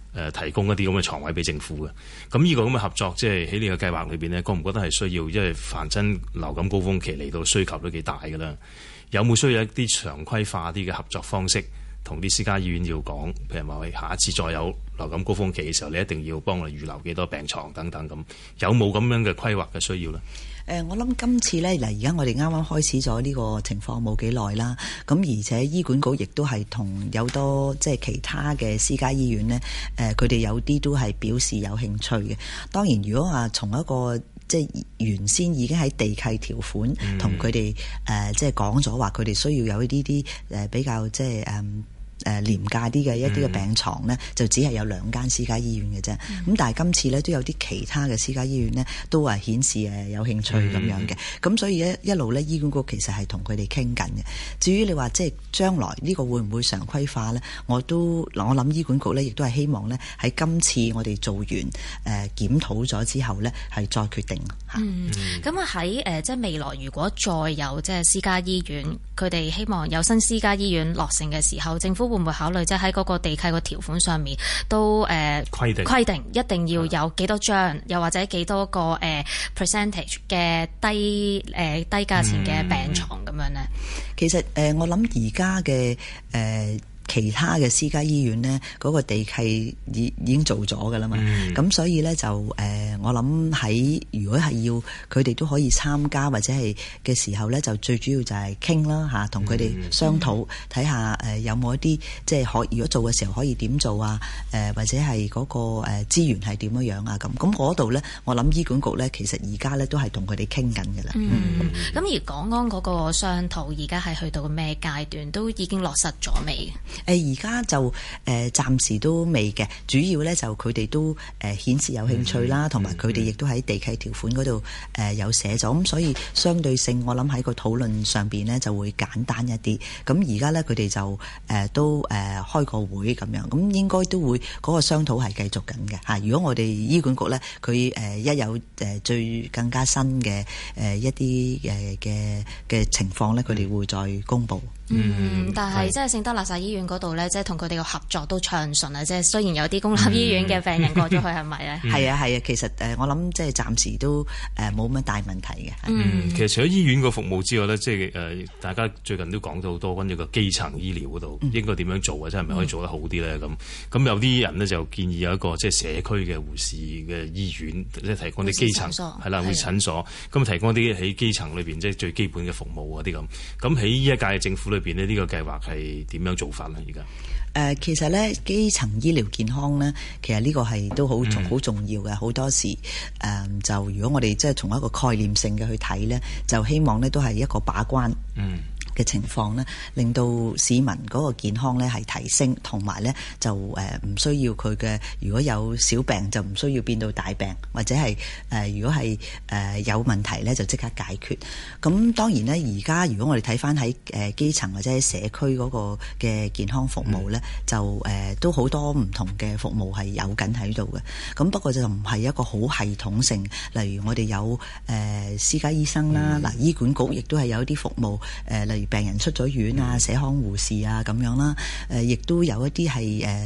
提供一啲咁嘅床位俾政府嘅。咁呢個咁嘅合作，即係喺呢個計劃裏邊呢，覺唔覺得係需要？因為凡真流感高峰期嚟到，需求都幾大㗎啦。有冇需要一啲常規化啲嘅合作方式，同啲私家醫院要講，譬如話下一次再有流感高峰期嘅時候，你一定要幫我哋預留幾多病床等等咁，有冇咁樣嘅規劃嘅需要呢？ 我諗今次呢，嗱，而家我哋啱啱開始咗呢個情況冇幾耐啦，咁而且醫管局亦都係同有多即係其他嘅私家醫院呢，佢哋有啲都係表示有興趣嘅。當然，如果話從一個即係原先已經喺地契條款同佢哋即係講咗話，佢哋需要有呢啲比較即係廉價啲嘅一啲嘅病床呢，就只係有2間私家醫院嘅啫。咁但係今次呢，都有啲其他嘅私家醫院呢，都係顯示有興趣咁樣嘅。咁所以一路呢，醫管局其實係同佢哋傾緊嘅。至於你話即係將來呢個會唔會常規化呢？我諗醫管局呢，亦都係希望呢，喺今次我哋做完檢討咗之後呢，係再決定嚇。 咁啊喺即係未來如果再有即係私家醫院，佢哋希望有新私家醫院落成嘅時候，政府會唔會考慮即係喺嗰個地契個條款上面都規定一定要有幾多張，又或者幾多個percentage 嘅低價錢嘅病床咁樣呢？ 其實我諗而家嘅其他嘅私家醫院呢，嗰個地契已經做咗㗎啦嘛。咁所以呢，就我諗如果係要佢哋都可以參加或者係嘅時候呢，就最主要就係傾啦嚇，同佢哋商討睇下有冇一啲即係如果做嘅時候可以點做啊？或者係嗰個資源係點樣啊？咁嗰度呢，我諗醫管局呢，其實而家呢都係同佢哋傾緊㗎啦。 咁而港安嗰個商討而家係去到咩階段？都已經落實咗未？ 而家就暫時都未嘅，主要咧就佢哋都顯示有興趣啦，同埋佢哋亦都喺地契條款嗰度有寫咗，咁所以相對性我諗喺個討論上邊呢就會簡單一啲。咁而家咧佢哋就都開個會咁樣，咁應該都會嗰個商討係繼續緊嘅嚇。如果我哋醫管局咧佢一有最更加新嘅一啲嘅情況咧，佢哋會再公佈。 但係即係聖德肋撒醫院嗰度咧，即係同佢哋嘅合作都暢順啊！即係雖然有啲公立醫院嘅病人過咗去，係咪咧？係啊， 其實我諗即係暫時都冇乜大問題嘅。 其實除咗醫院個服務之外咧，即係大家最近都講到好多關於個基層醫療嗰度應該點樣做啊？即係咪可以做得好啲咧？咁有啲人呢，就建議有一個即係社區嘅護士嘅醫院，即係提供啲基層係啦，護士診所，咁提供啲喺基層裏邊即係最基本嘅服務嗰啲咁。咁喺呢一屆政府裏邊呢個計劃係點樣做法呢？而家其實呢，基層醫療健康呢，其實呢個係都好重要嘅。好多時就如果我哋即係從一個概念性嘅去睇呢，就希望呢都係一個把關嘅情況呢，令到市民嗰個健康呢係提升，同埋呢就唔需要佢嘅如果有小病就唔需要變到大病，或者係如果係有問題呢就即刻解決。咁當然呢，而家如果我哋睇翻喺基層或者喺社區嗰個嘅健康服務呢，就都好多唔同嘅服務係有緊喺度嘅。咁不過就唔係一個好系統性，例如我哋有私家醫生啦，嗱醫管局亦都係有啲服務例如病人出咗院啊，社康護士啊咁樣啦，亦都有一啲係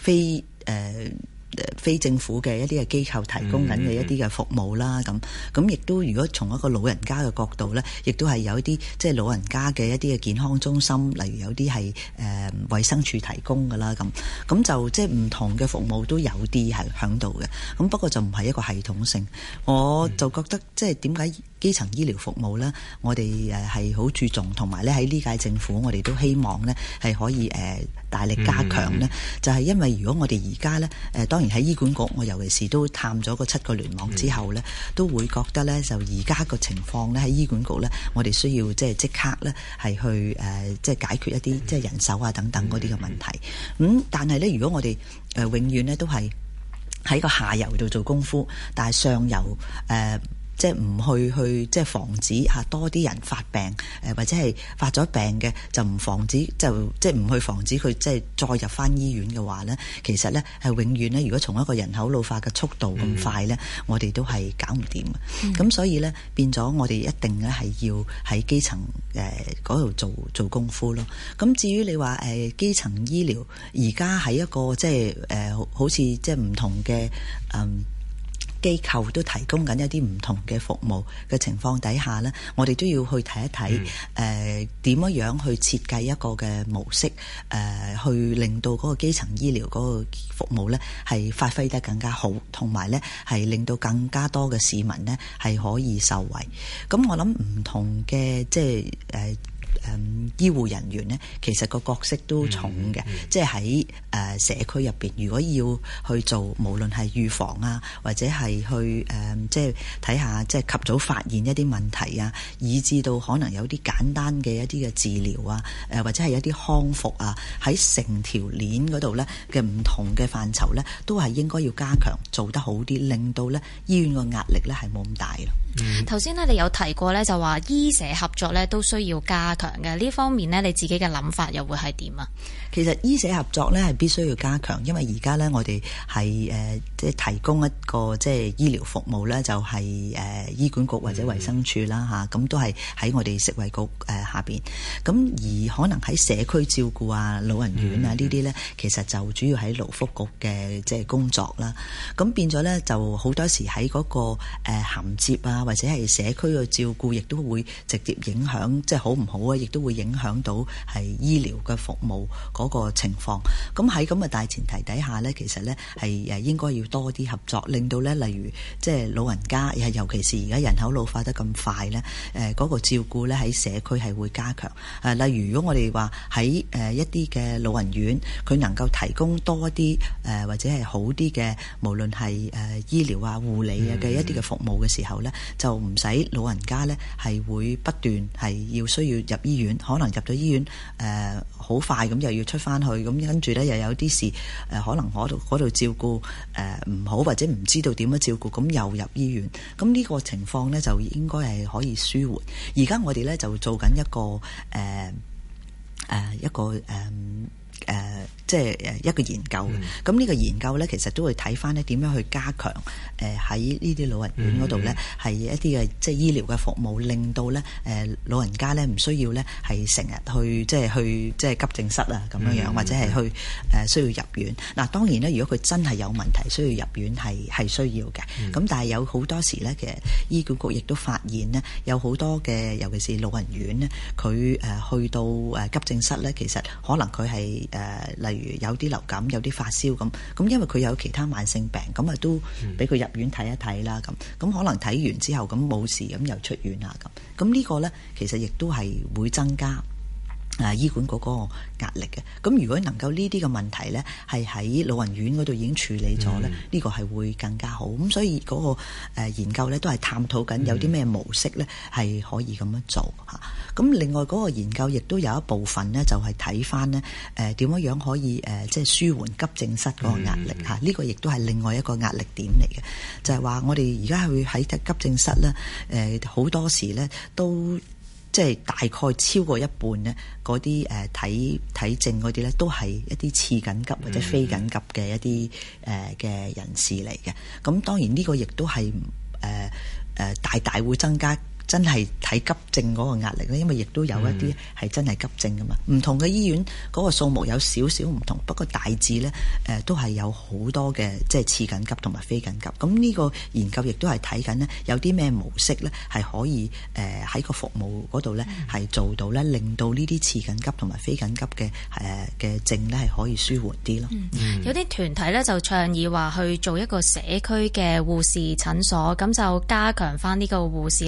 非政府嘅一啲嘅機構提供緊嘅一啲嘅服務啦，咁亦都如果從一個老人家嘅角度咧，亦都係有一啲即係老人家嘅一啲嘅健康中心，例如有啲係衛生署提供㗎啦，咁就即係唔同嘅服務都有啲係響度嘅，咁不過就唔係一個系統性。我就覺得即係點解基層醫療服務咧，我哋係好注重，同埋咧喺呢屆政府我哋都希望咧係可以大力加強咧，就係因為如果我哋而家咧當然喺醫管局，我尤其是都探咗個7個聯網之後咧，都會覺得咧就而家個情況咧喺醫管局咧，我哋需要即刻咧係去即係解決一啲即係人手啊等等嗰啲嘅問題。但係咧，如果我哋永遠咧都係喺個下游度做功夫，但係上游即係唔去即係防止多啲人發病，或者係發咗病嘅就唔防止，就即係唔去防止佢即係再入翻醫院嘅話咧，其實咧係永遠咧，如果從一個人口老化嘅速度咁快咧，我哋都係搞唔掂嘅。咁所以咧變咗我哋一定咧係要喺基層嗰度做功夫咯。咁至於你話基層醫療而家喺一個即係好似即係唔同嘅機構都提供緊一啲唔同嘅服務嘅情況底下呢，我哋都要去睇一睇點樣去設計一個嘅模式，去令到嗰個基層醫療嗰個服務呢係發揮得更加好，同埋呢係令到更加多嘅市民呢係可以受惠。咁我諗唔同嘅即係醫護人員呢，其實個角色都重嘅，即係喺社區入邊，如果要去做，無論係預防啊，或者係去即係睇下即係及早發現一啲問題啊，以至到可能有啲簡單嘅一啲嘅治療啊，或者係一啲康復啊，喺成條鏈嗰度呢嘅唔同嘅範疇呢，都係應該要加強，做得好啲，令到呢醫院個壓力呢係冇咁大咯。 頭先呢，你有提過呢，就話醫社合作呢都需要加強嘅，呢方面呢，你自己嘅諗法又會係點啊？ 其實醫社合作呢係必須要加強，因為而家呢，我哋係即係提供一個即係醫療服務呢，就係醫管局或者衛生署啦嚇，咁都係喺我哋食衛局下邊。咁而可能喺社區照顧啊、老人院啊呢啲呢，其實就主要喺勞福局嘅即係工作啦。咁變咗呢，就好多時喺嗰個銜接啊，或者係社區嘅照顧，亦都會直接影響，即係好唔好啊？亦都會影響到係醫療嘅服務嗰個情況。咁喺咁嘅大前提底下呢，其實呢係應該要多啲合作，令到呢例如即係老人家，尤其是而家人口老化得咁快呢，嗰個照顧呢喺社區係會加強。例如如果我哋話喺一啲嘅老人院，佢能夠提供多啲或者係好啲嘅，無論係醫療啊、護理啊嘅一啲嘅服務嘅時候呢，就唔使老人家呢係會不斷係要需要入醫院，可能入咗醫院好快咁又要出翻去，咁跟住呢又有啲事可能嗰度照顧唔好，或者唔知道點樣照顧，咁又入醫院。咁呢個情況呢，就應該係可以舒緩。而家我哋呢，就做緊一個即係一個研究。咁呢個研究呢，其實都會睇翻呢點樣去加強喺呢啲老人院嗰度呢，係一啲嘅即係醫療嘅服務，令到呢老人家呢唔需要呢係成日去即係急症室啊咁樣樣，或者係去需要入院。嗱，當然呢，如果佢真係有問題需要入院係需要嘅。咁但係有好多時呢，其實醫管局亦都發現呢，有好多嘅尤其是老人院呢，佢去到急症室呢，其實可能佢係例如有啲流感、有啲發燒咁，因為佢有其他慢性病，咁啊都俾佢入院睇一睇啦。咁可能睇完之後咁冇事，咁又出院啦。咁呢個呢，其實亦都係會增加醫管局嗰個壓力嘅。咁如果能夠呢啲嘅問題呢，係喺老人院嗰度已經處理咗呢，呢個係會更加好。咁所以嗰個研究呢，都係探討緊有啲咩模式呢係可以咁樣做嚇。咁另外嗰個研究亦都有一部分呢，就係睇翻呢點樣可以即係舒緩急症室嗰個壓力嚇。呢個亦都係另外一個壓力點嚟嘅，就係話我哋而家去喺急症室呢，好多時呢都即係大概超過一半呢，嗰啲睇症嗰啲呢，都係一啲次緊急或者非緊急嘅一啲嘅人士嚟嘅。咁當然呢個亦都係大大會增加真係睇急症嗰個壓力咧，因為亦都有一啲係真係急症噶嘛。唔同嘅醫院嗰個數目有少少唔同，不過大致咧都係有好多嘅即係次緊急同埋非緊急。咁呢個研究亦都係睇緊呢，有啲咩模式咧係可以喺個服務嗰度咧係做到咧，令到呢啲次緊急同埋非緊急嘅症咧係可以舒緩啲咯。 有啲團體咧就倡議話去做一個社區嘅護士診所，咁就加強翻呢個護士咧喺社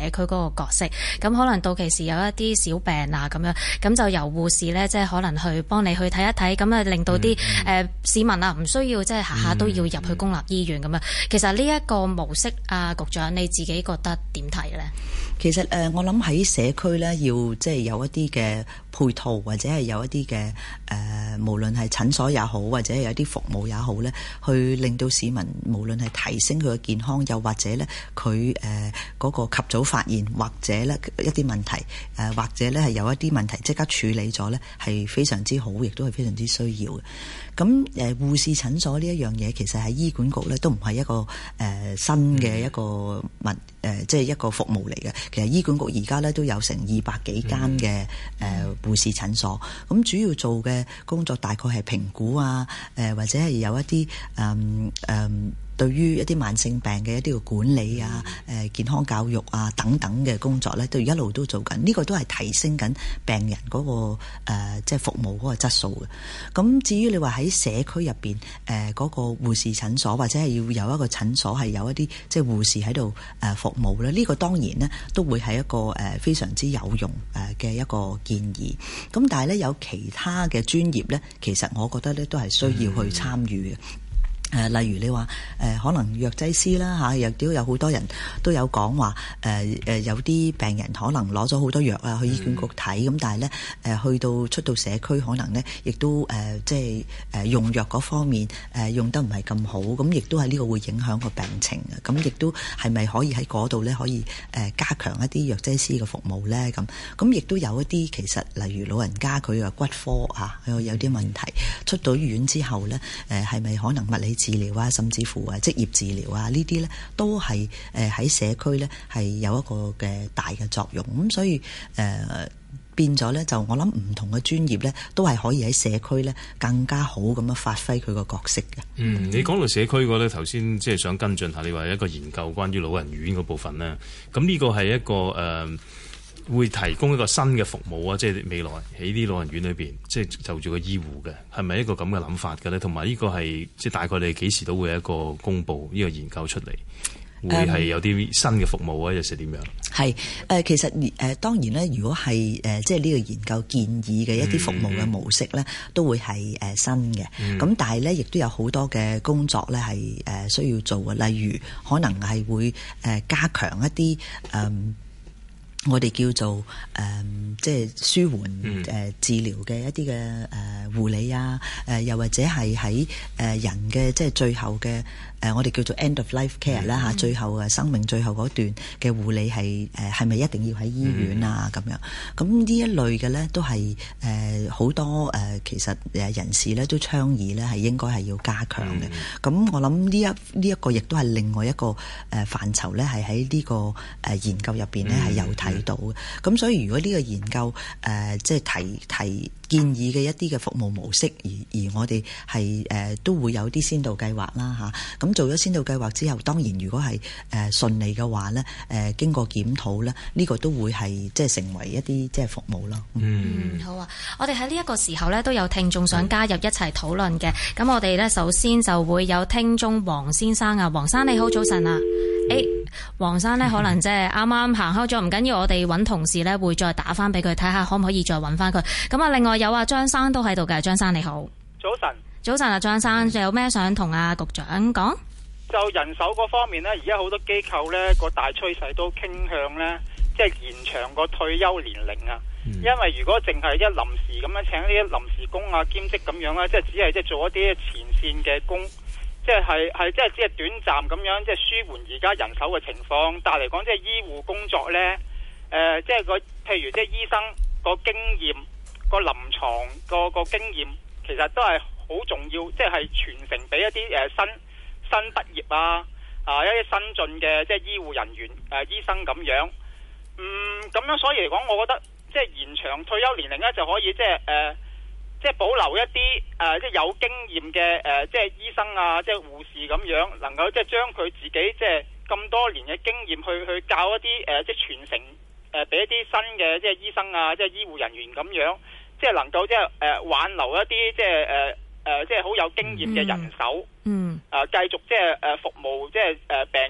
區嗰個角色。咁可能到期時有一啲小病啊咁樣，咁就由護士咧即係可能去幫你去睇一睇，咁啊令到啲市民啊唔需要即係下下都要入去公立醫院咁樣。其實呢一個模式啊，局長你自己覺得點睇咧？ 其實我諗喺社區咧，要即係有一啲嘅配套，或者係有一啲嘅無論係診所也好，或者係有啲服務也好咧，去令到市民無論係提升佢嘅健康，又或者咧佢嗰個及早發現，或者咧一啲問題或者咧係有一啲問題即刻處理咗咧，係非常之好，亦都係非常之需要嘅。咁護士診所呢一樣嘢，其實喺醫管局咧都唔係一個新嘅一個即係一個服務嚟嘅。其實醫管局而家咧都有成200幾間嘅護士診所，咁主要做嘅工作大概係評估啊，或者係有一啲對於一啲慢性病嘅一啲嘅管理啊、健康教育啊等等嘅工作咧，都一路都做緊。呢個都係提升緊病人嗰個即係服務嗰個質素嘅。咁至於你話喺社區入邊嗰個護士診所，或者係要有一個診所係有一啲即係護士喺度服務咧，呢個當然咧都會係一個非常之有用嘅一個建議。咁但係咧有其他嘅專業咧，其實我覺得咧都係需要去參與嘅。例如你話可能藥劑師啦嚇，亦都有好多人都有講話有啲病人可能攞咗好多藥啊去醫管局睇，咁但係咧去到出到社區可能咧亦都即係用藥嗰方面用得唔係咁好，咁亦都係呢個會影響個病情嘅。咁亦都係咪可以喺嗰度咧可以加強一啲藥劑師嘅服務咧？咁亦都有一啲其實例如老人家佢嘅骨科啊有啲問題，出到醫院之後咧係咪可能物理治療啊，甚至乎職業治療啊，呢啲咧都係喺社區咧係有一個嘅大嘅作用。咁所以變咗咧，就我諗唔同嘅專業咧都係可以喺社區咧更加好咁樣發揮佢個角色嘅。 你講到社區嗰咧，頭先即係想跟進下，你話一個研究關於老人院嗰部分咧，咁呢個係一個會提供一個新嘅服務啊！即係未來喺啲老人院裏邊，即係就住個醫護嘅，係咪一個咁嘅諗法嘅咧？同埋呢個係即係大概你幾時都會有一個公佈呢個研究出嚟，會係有啲新嘅服務啊，又是點樣？係其實當然咧，如果係即係呢個研究建議嘅一啲服務嘅模式咧，都會係新嘅。咁但係咧，亦都有好多嘅工作咧係需要做嘅，例如可能係會加強一啲我哋叫做即係舒緩治療嘅一啲嘅護理啊，又或者係喺人嘅即係最後嘅我哋叫做 end of life care 啦嚇，最後生命最後嗰段嘅護理係咪一定要喺醫院啊咁樣？咁呢一類嘅咧都係好多其實人士咧都倡議咧係應該係要加強嘅。咁我諗呢一個亦都係另外一個範疇咧，係喺呢個研究入邊咧係有睇到嘅。咁所以如果呢個研究即係提建議嘅一啲嘅服務模式，而我哋係都會有啲先導計劃啦嚇。咁做咗先導計劃之後，當然如果係順利嘅話咧，經過檢討咧，呢個都會係即係成為一啲即係服務咯。 好啊！我哋喺呢一個時候咧都有聽眾想加入一齊討論嘅。咁我哋咧首先就會有聽眾黃先生啊，黃生你好，早晨啊！黃生咧可能即係啱啱行開咗，唔緊要，我哋揾同事咧會再打翻俾佢睇下，可唔可以再揾翻佢。咁啊，另外有張生都喺度嘅，張生你好， 早晨。 早晨啊，張生，有咩想同阿局長講？ 就人手嗰方面呢，而家好多機構呢個大趨勢都傾向呢，即係延長個退休年齡啊。因為如果淨係一臨時咁樣請啲臨時工啊、兼職咁樣咧，即係只係即係做一啲前線嘅工，即係即係只係短暫咁樣，即係舒緩而家人手嘅情況。但係嚟講，即係醫護工作呢，即係譬如即係醫生個經驗、個臨床個經驗，其實都係好重要，即係傳承俾一啲新畢業一啲新進嘅即係醫護人員醫生咁樣。咁樣所以嚟講，我覺得即係延長退休年齡咧，就可以即係保留一啲即係有經驗嘅即係醫生啊，即係護士咁樣，能夠即係將佢自己即係咁多年嘅經驗去教一啲即係傳承俾一啲新嘅即係醫生啊，即係醫護人員咁樣，即係能夠即係挽留一啲即係好有經驗嘅人手，繼續即係服務即係病人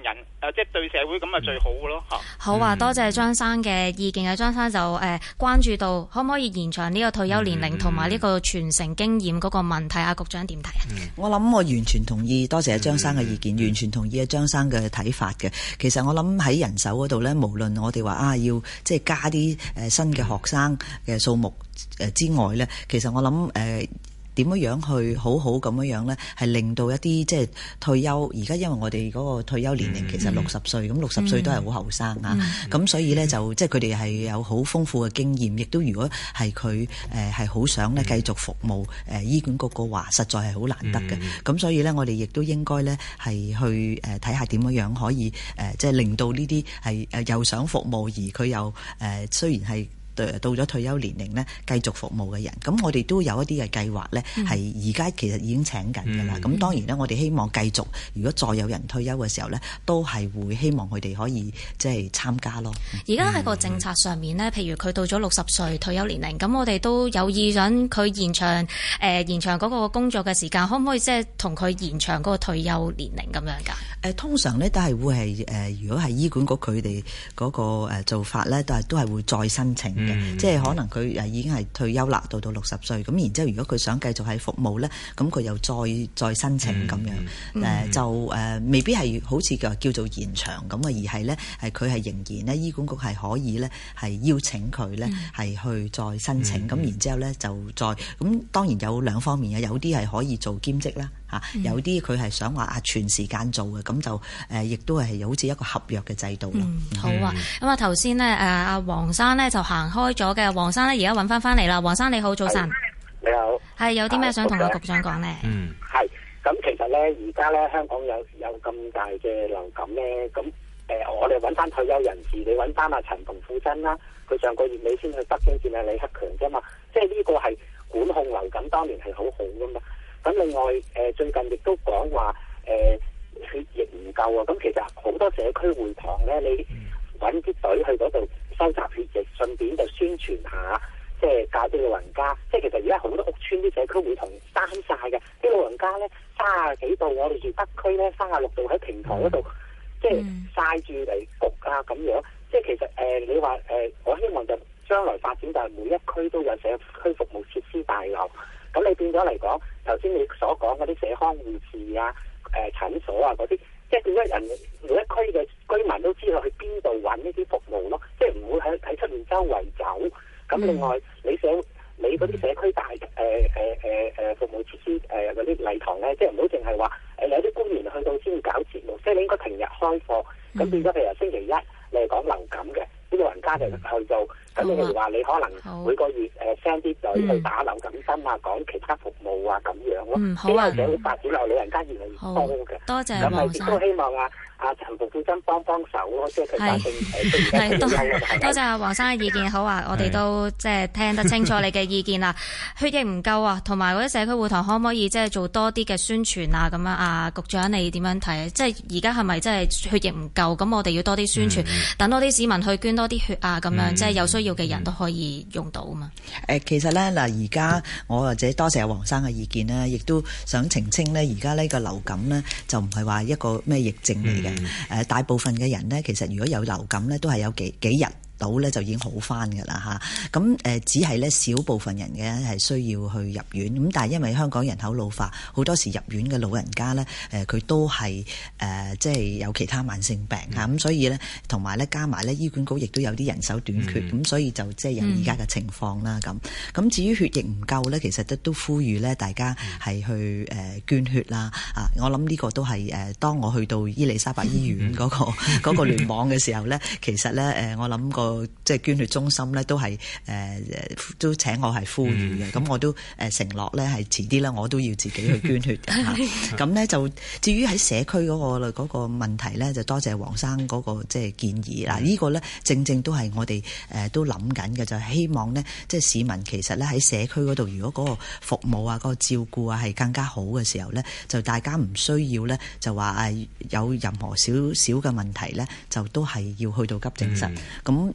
即係對社會咁啊最好嘅咯嚇。 好啊，多謝張生嘅意見啊！張生就關注到可唔可以延長呢個退休年齡同埋呢個傳承經驗嗰個問題啊？局長點睇啊？ 我諗我完全同意，多謝張生嘅意見，完全同意張生嘅睇法嘅。其實我諗喺人手嗰度咧，無論我哋話要即係加啲新嘅學生嘅數目之外咧，其實我諗點樣去好好咁樣咧，係令到一啲即係退休。而家因為我哋嗰個退休年齡其實60歲，咁60歲都係好後生啊。咁所以咧就即係佢哋係有好豐富嘅經驗，亦都如果係佢係好想咧繼續服務醫管局嘅話，實在係好難得嘅。咁所以咧，我哋亦都應該咧係去睇下點樣可以即係令到呢啲係又想服務而佢又雖然係到咗退休年齡呢，繼續服務嘅人，咁我哋都有一啲嘅計劃呢，係而家其實已經請緊㗎啦。咁當然呢，我哋希望繼續，如果再有人退休嘅時候呢，都係會希望佢哋可以即係參加咯。 而家喺個政策上面呢，譬如佢到咗60歲退休年齡，咁我哋都有意想佢延長嗰個工作嘅時間，可唔可以即係同佢延長嗰個退休年齡咁樣㗎？ 通常呢都係會係如果係醫管局佢哋嗰個做法呢，都係會再申請。即係可能佢已經係退休啦，到60歲，咁然之後如果佢想繼續喺服務咧，咁佢又再申請咁樣，就未必係好似叫做延長咁啊，而係咧係佢係仍然咧醫管局係可以咧係邀請佢咧係去再申請，咁然之後咧就再咁當然有兩方面嘅，有啲係可以做兼職啦。有啲佢係想話全時間做嘅，咁就亦都係好似一個合約嘅制度咯。 好啊，咁啊頭先呢，阿黃生呢就行開咗嘅，黃生呢而家揾翻嚟啦。黃生你好，早晨。 你好。係有啲咩想同阿局長講呢？ 係咁，其實呢，而家呢，香港有咁大嘅流感呢。咁我哋揾翻退休人士，你揾翻阿陳馮富珍啦，佢上個月尾先去北京見阿李克強啫嘛，即係呢個係管控流感當年係好好噶嘛。咁另外最近亦都講話血液唔夠啊！咁其實好多社區會堂咧，你揾啲隊去嗰度收集血液，順便就宣傳下，即係教啲老人家。即係其實而家好多屋村啲社區會堂閂晒嘅，啲老人家咧30幾度，我哋住北區咧36度喺平台嗰度，即係曬住嚟焗啊咁樣。即係其實你話我希望就將來發展就係每一區都有社區服務設施大樓。咁你變咗嚟講，頭先你所講嗰啲社康護士啊、診所啊嗰啲，即係變咗人每一區嘅居民都知道去邊度揾呢啲服務咯，即係唔會喺出面周圍走。咁另外你嗰啲社區大服務設施嗰啲禮堂咧，即係唔好淨係話有啲官員去到先搞節目，即係你應該平日開課。咁變咗譬如星期一你係講流感嘅，啲老人家就去做。咁你譬如話你可能每個月send 啲隊去打流感針啊，講其他服務啊咁樣咯。 好啊， 社會發展落老人家越嚟越多嘅。 多謝黃生。 咁亦都希望阿陳馮富珍幫手咯，即係佢反正多謝阿黃生嘅意見。好啊，我哋都即係聽得清楚你嘅意見啦。血液唔夠啊，同埋嗰啲社區會堂可唔可以即係做多啲嘅宣傳啊？咁樣啊，局長你點樣睇？即係而家係咪即係血液唔夠？咁我哋要多啲宣傳，等多啲市民去捐多啲血啊！咁樣即係有需要嘅人都可以用到啊嘛。 其實咧嗱，而家我或者多謝阿黃生嘅意見咧，亦都想澄清咧，而家呢個流感咧就唔係話一個咩疫症嚟嘅。大部分嘅人咧，其實如果有流感咧，都係有幾日到咧就已經好翻㗎啦嚇，咁只係咧少部分人嘅係需要去入院，咁但係因為香港人口老化，好多時入院嘅老人家咧佢都係即係有其他慢性病嚇，咁所以咧同埋咧加埋咧醫管局亦都有啲人手短缺，咁所以就即係有而家嘅情況啦咁。咁至於血液唔夠咧，其實都呼籲咧大家係去捐血啦啊！我諗呢個都係當我去到伊利沙伯醫院嗰個聯網嘅時候咧，其實咧我諗個即係捐血中心咧，都係都請我係呼籲嘅。咁我都承諾咧，係遲啲咧，我都要自己去捐血嘅嚇。咁咧就至於喺社區嗰個問題咧，就多謝黃生嗰個即係建議嗱。呢個咧正正都係我哋都諗緊嘅，就係希望咧，即係市民其實咧喺社區嗰度，如果嗰個服務啊、嗰個照顧啊係更加好嘅時候咧，就大家唔需要咧就話有任何少少嘅問題咧，就都係要去到急症室咁。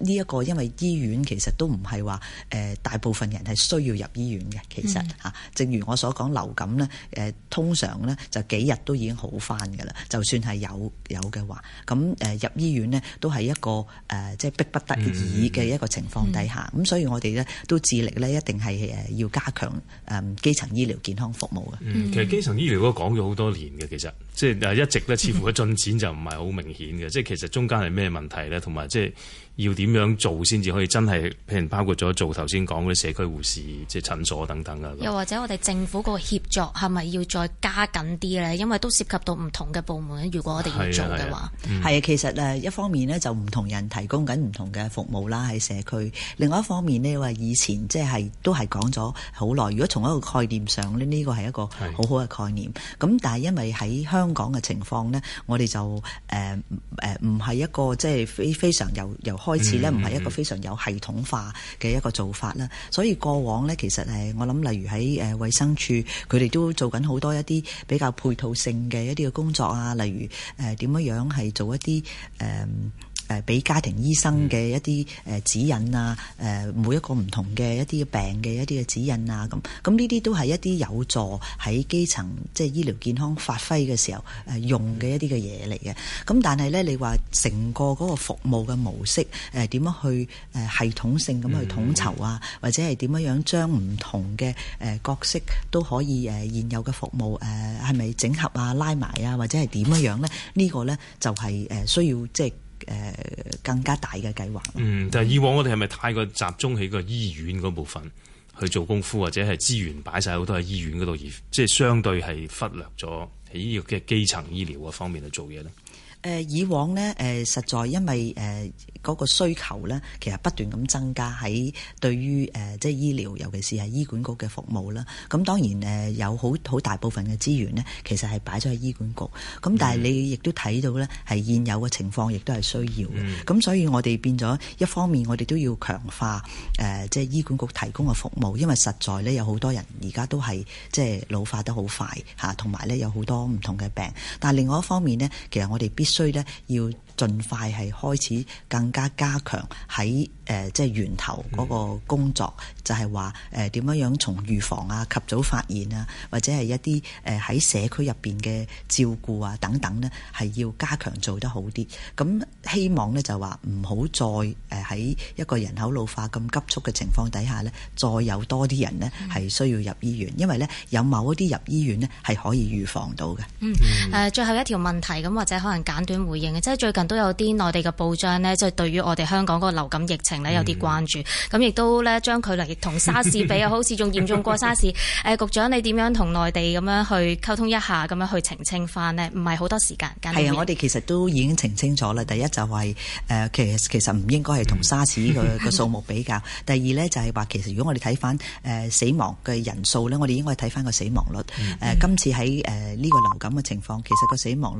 呢一個因為醫院其實都唔係話大部分人係需要入醫院嘅，其實正如我所講流感咧通常咧就幾日都已經好返㗎啦，就算係有嘅話，咁入醫院咧都係一個即係逼不得已嘅一個情況底下，咁所以我哋咧都致力咧一定係要加強基層醫療健康服務嘅。 其實基層醫療都講咗好多年嘅，其實即係一直咧似乎個進展就唔係好明顯嘅，即係其實中間係咩問題咧，同埋即係要點樣做先至可以真係，譬如包括咗做頭先講嗰啲社區護士、即係診所等等啊。 又或者我哋政府個協作係咪要再加緊啲咧？因為都涉及到唔同嘅部門，如果我哋要做嘅話， 係啊，其實一方面呢，就唔同人提供緊唔同嘅服務啦喺社區，另外一方面呢，話以前即係都係講咗好耐。如果從一個概念上呢，呢個係一個好好嘅概念。咁但係因為喺香港嘅情況呢，我哋就唔係一個即係非常由開始呢，唔係一個非常有系統化嘅一個做法啦。所以過往呢，其實我諗例如喺衛生署，佢哋都做緊好多一啲比較配套性嘅一啲嘅工作啊，例如點樣係做一啲俾家庭醫生嘅一啲指引啊，每一個唔同嘅一啲病嘅一啲嘅指引啊，咁呢啲都係一啲有助喺基層即係醫療健康發揮嘅時候用嘅一啲嘅嘢嚟嘅。咁但係咧，你話成個嗰個服務嘅模式點樣去系統性咁去統籌啊，或者係點樣將唔同嘅角色都可以現有嘅服務係咪整合啊、拉埋啊，或者係點樣咧？呢個咧就係需要即係更加大嘅計劃。 但係以往我哋係咪太過集中喺個醫院嗰部分去做功夫，或者係資源擺晒好多喺醫院嗰度，而即係相對係忽略咗喺呢個嘅基層醫療嗰方面去做嘢咧？ 以往呢，實在因為嗰個需求呢，其實不斷咁增加喺對於即係醫療，尤其是係醫管局嘅服務啦。咁當然有好大部分嘅資源呢，其實係擺咗喺醫管局。咁但係你亦都睇到呢，係現有嘅情況，亦都係需要嘅。咁所以我哋變咗一方面，我哋都要強化即係醫管局提供嘅服務，因為實在呢，有好多人而家都係即係老化得好快嚇，同埋呢有好多唔同嘅病。但係另外一方面呢，其實我哋必須咧要盡快係開始更加加強喺即係源頭嗰個工作，就係話點樣從預防啊、及早發現啊，或者係一啲喺社區入邊嘅照顧啊等等呢，係要加強做得好啲。咁希望呢，就話唔好再喺一個人口老化咁急速嘅情況底下呢，再有多啲人呢係需要入醫院，因為呢有某一啲入醫院呢係可以預防到嘅。 最後一條問題咁，或者可能簡短回應嘅，即係最近都有啲內地嘅報章呢，即係對於我哋香港嗰個流感疫情呢有啲關注，咁亦都呢將佢嚟同沙士比啊，好似仲嚴重過沙士。局長你點樣同內地咁樣去溝通一下，咁樣去澄清翻呢？唔係好多時間。 係啊，我哋其實都已經澄清咗啦。第一就係其實唔應該係同沙士個數目比較。第二呢，就係話其實如果我哋睇翻死亡嘅人數呢，我哋應該睇翻個死亡率。今次喺呢個流感嘅情況，其實個死亡率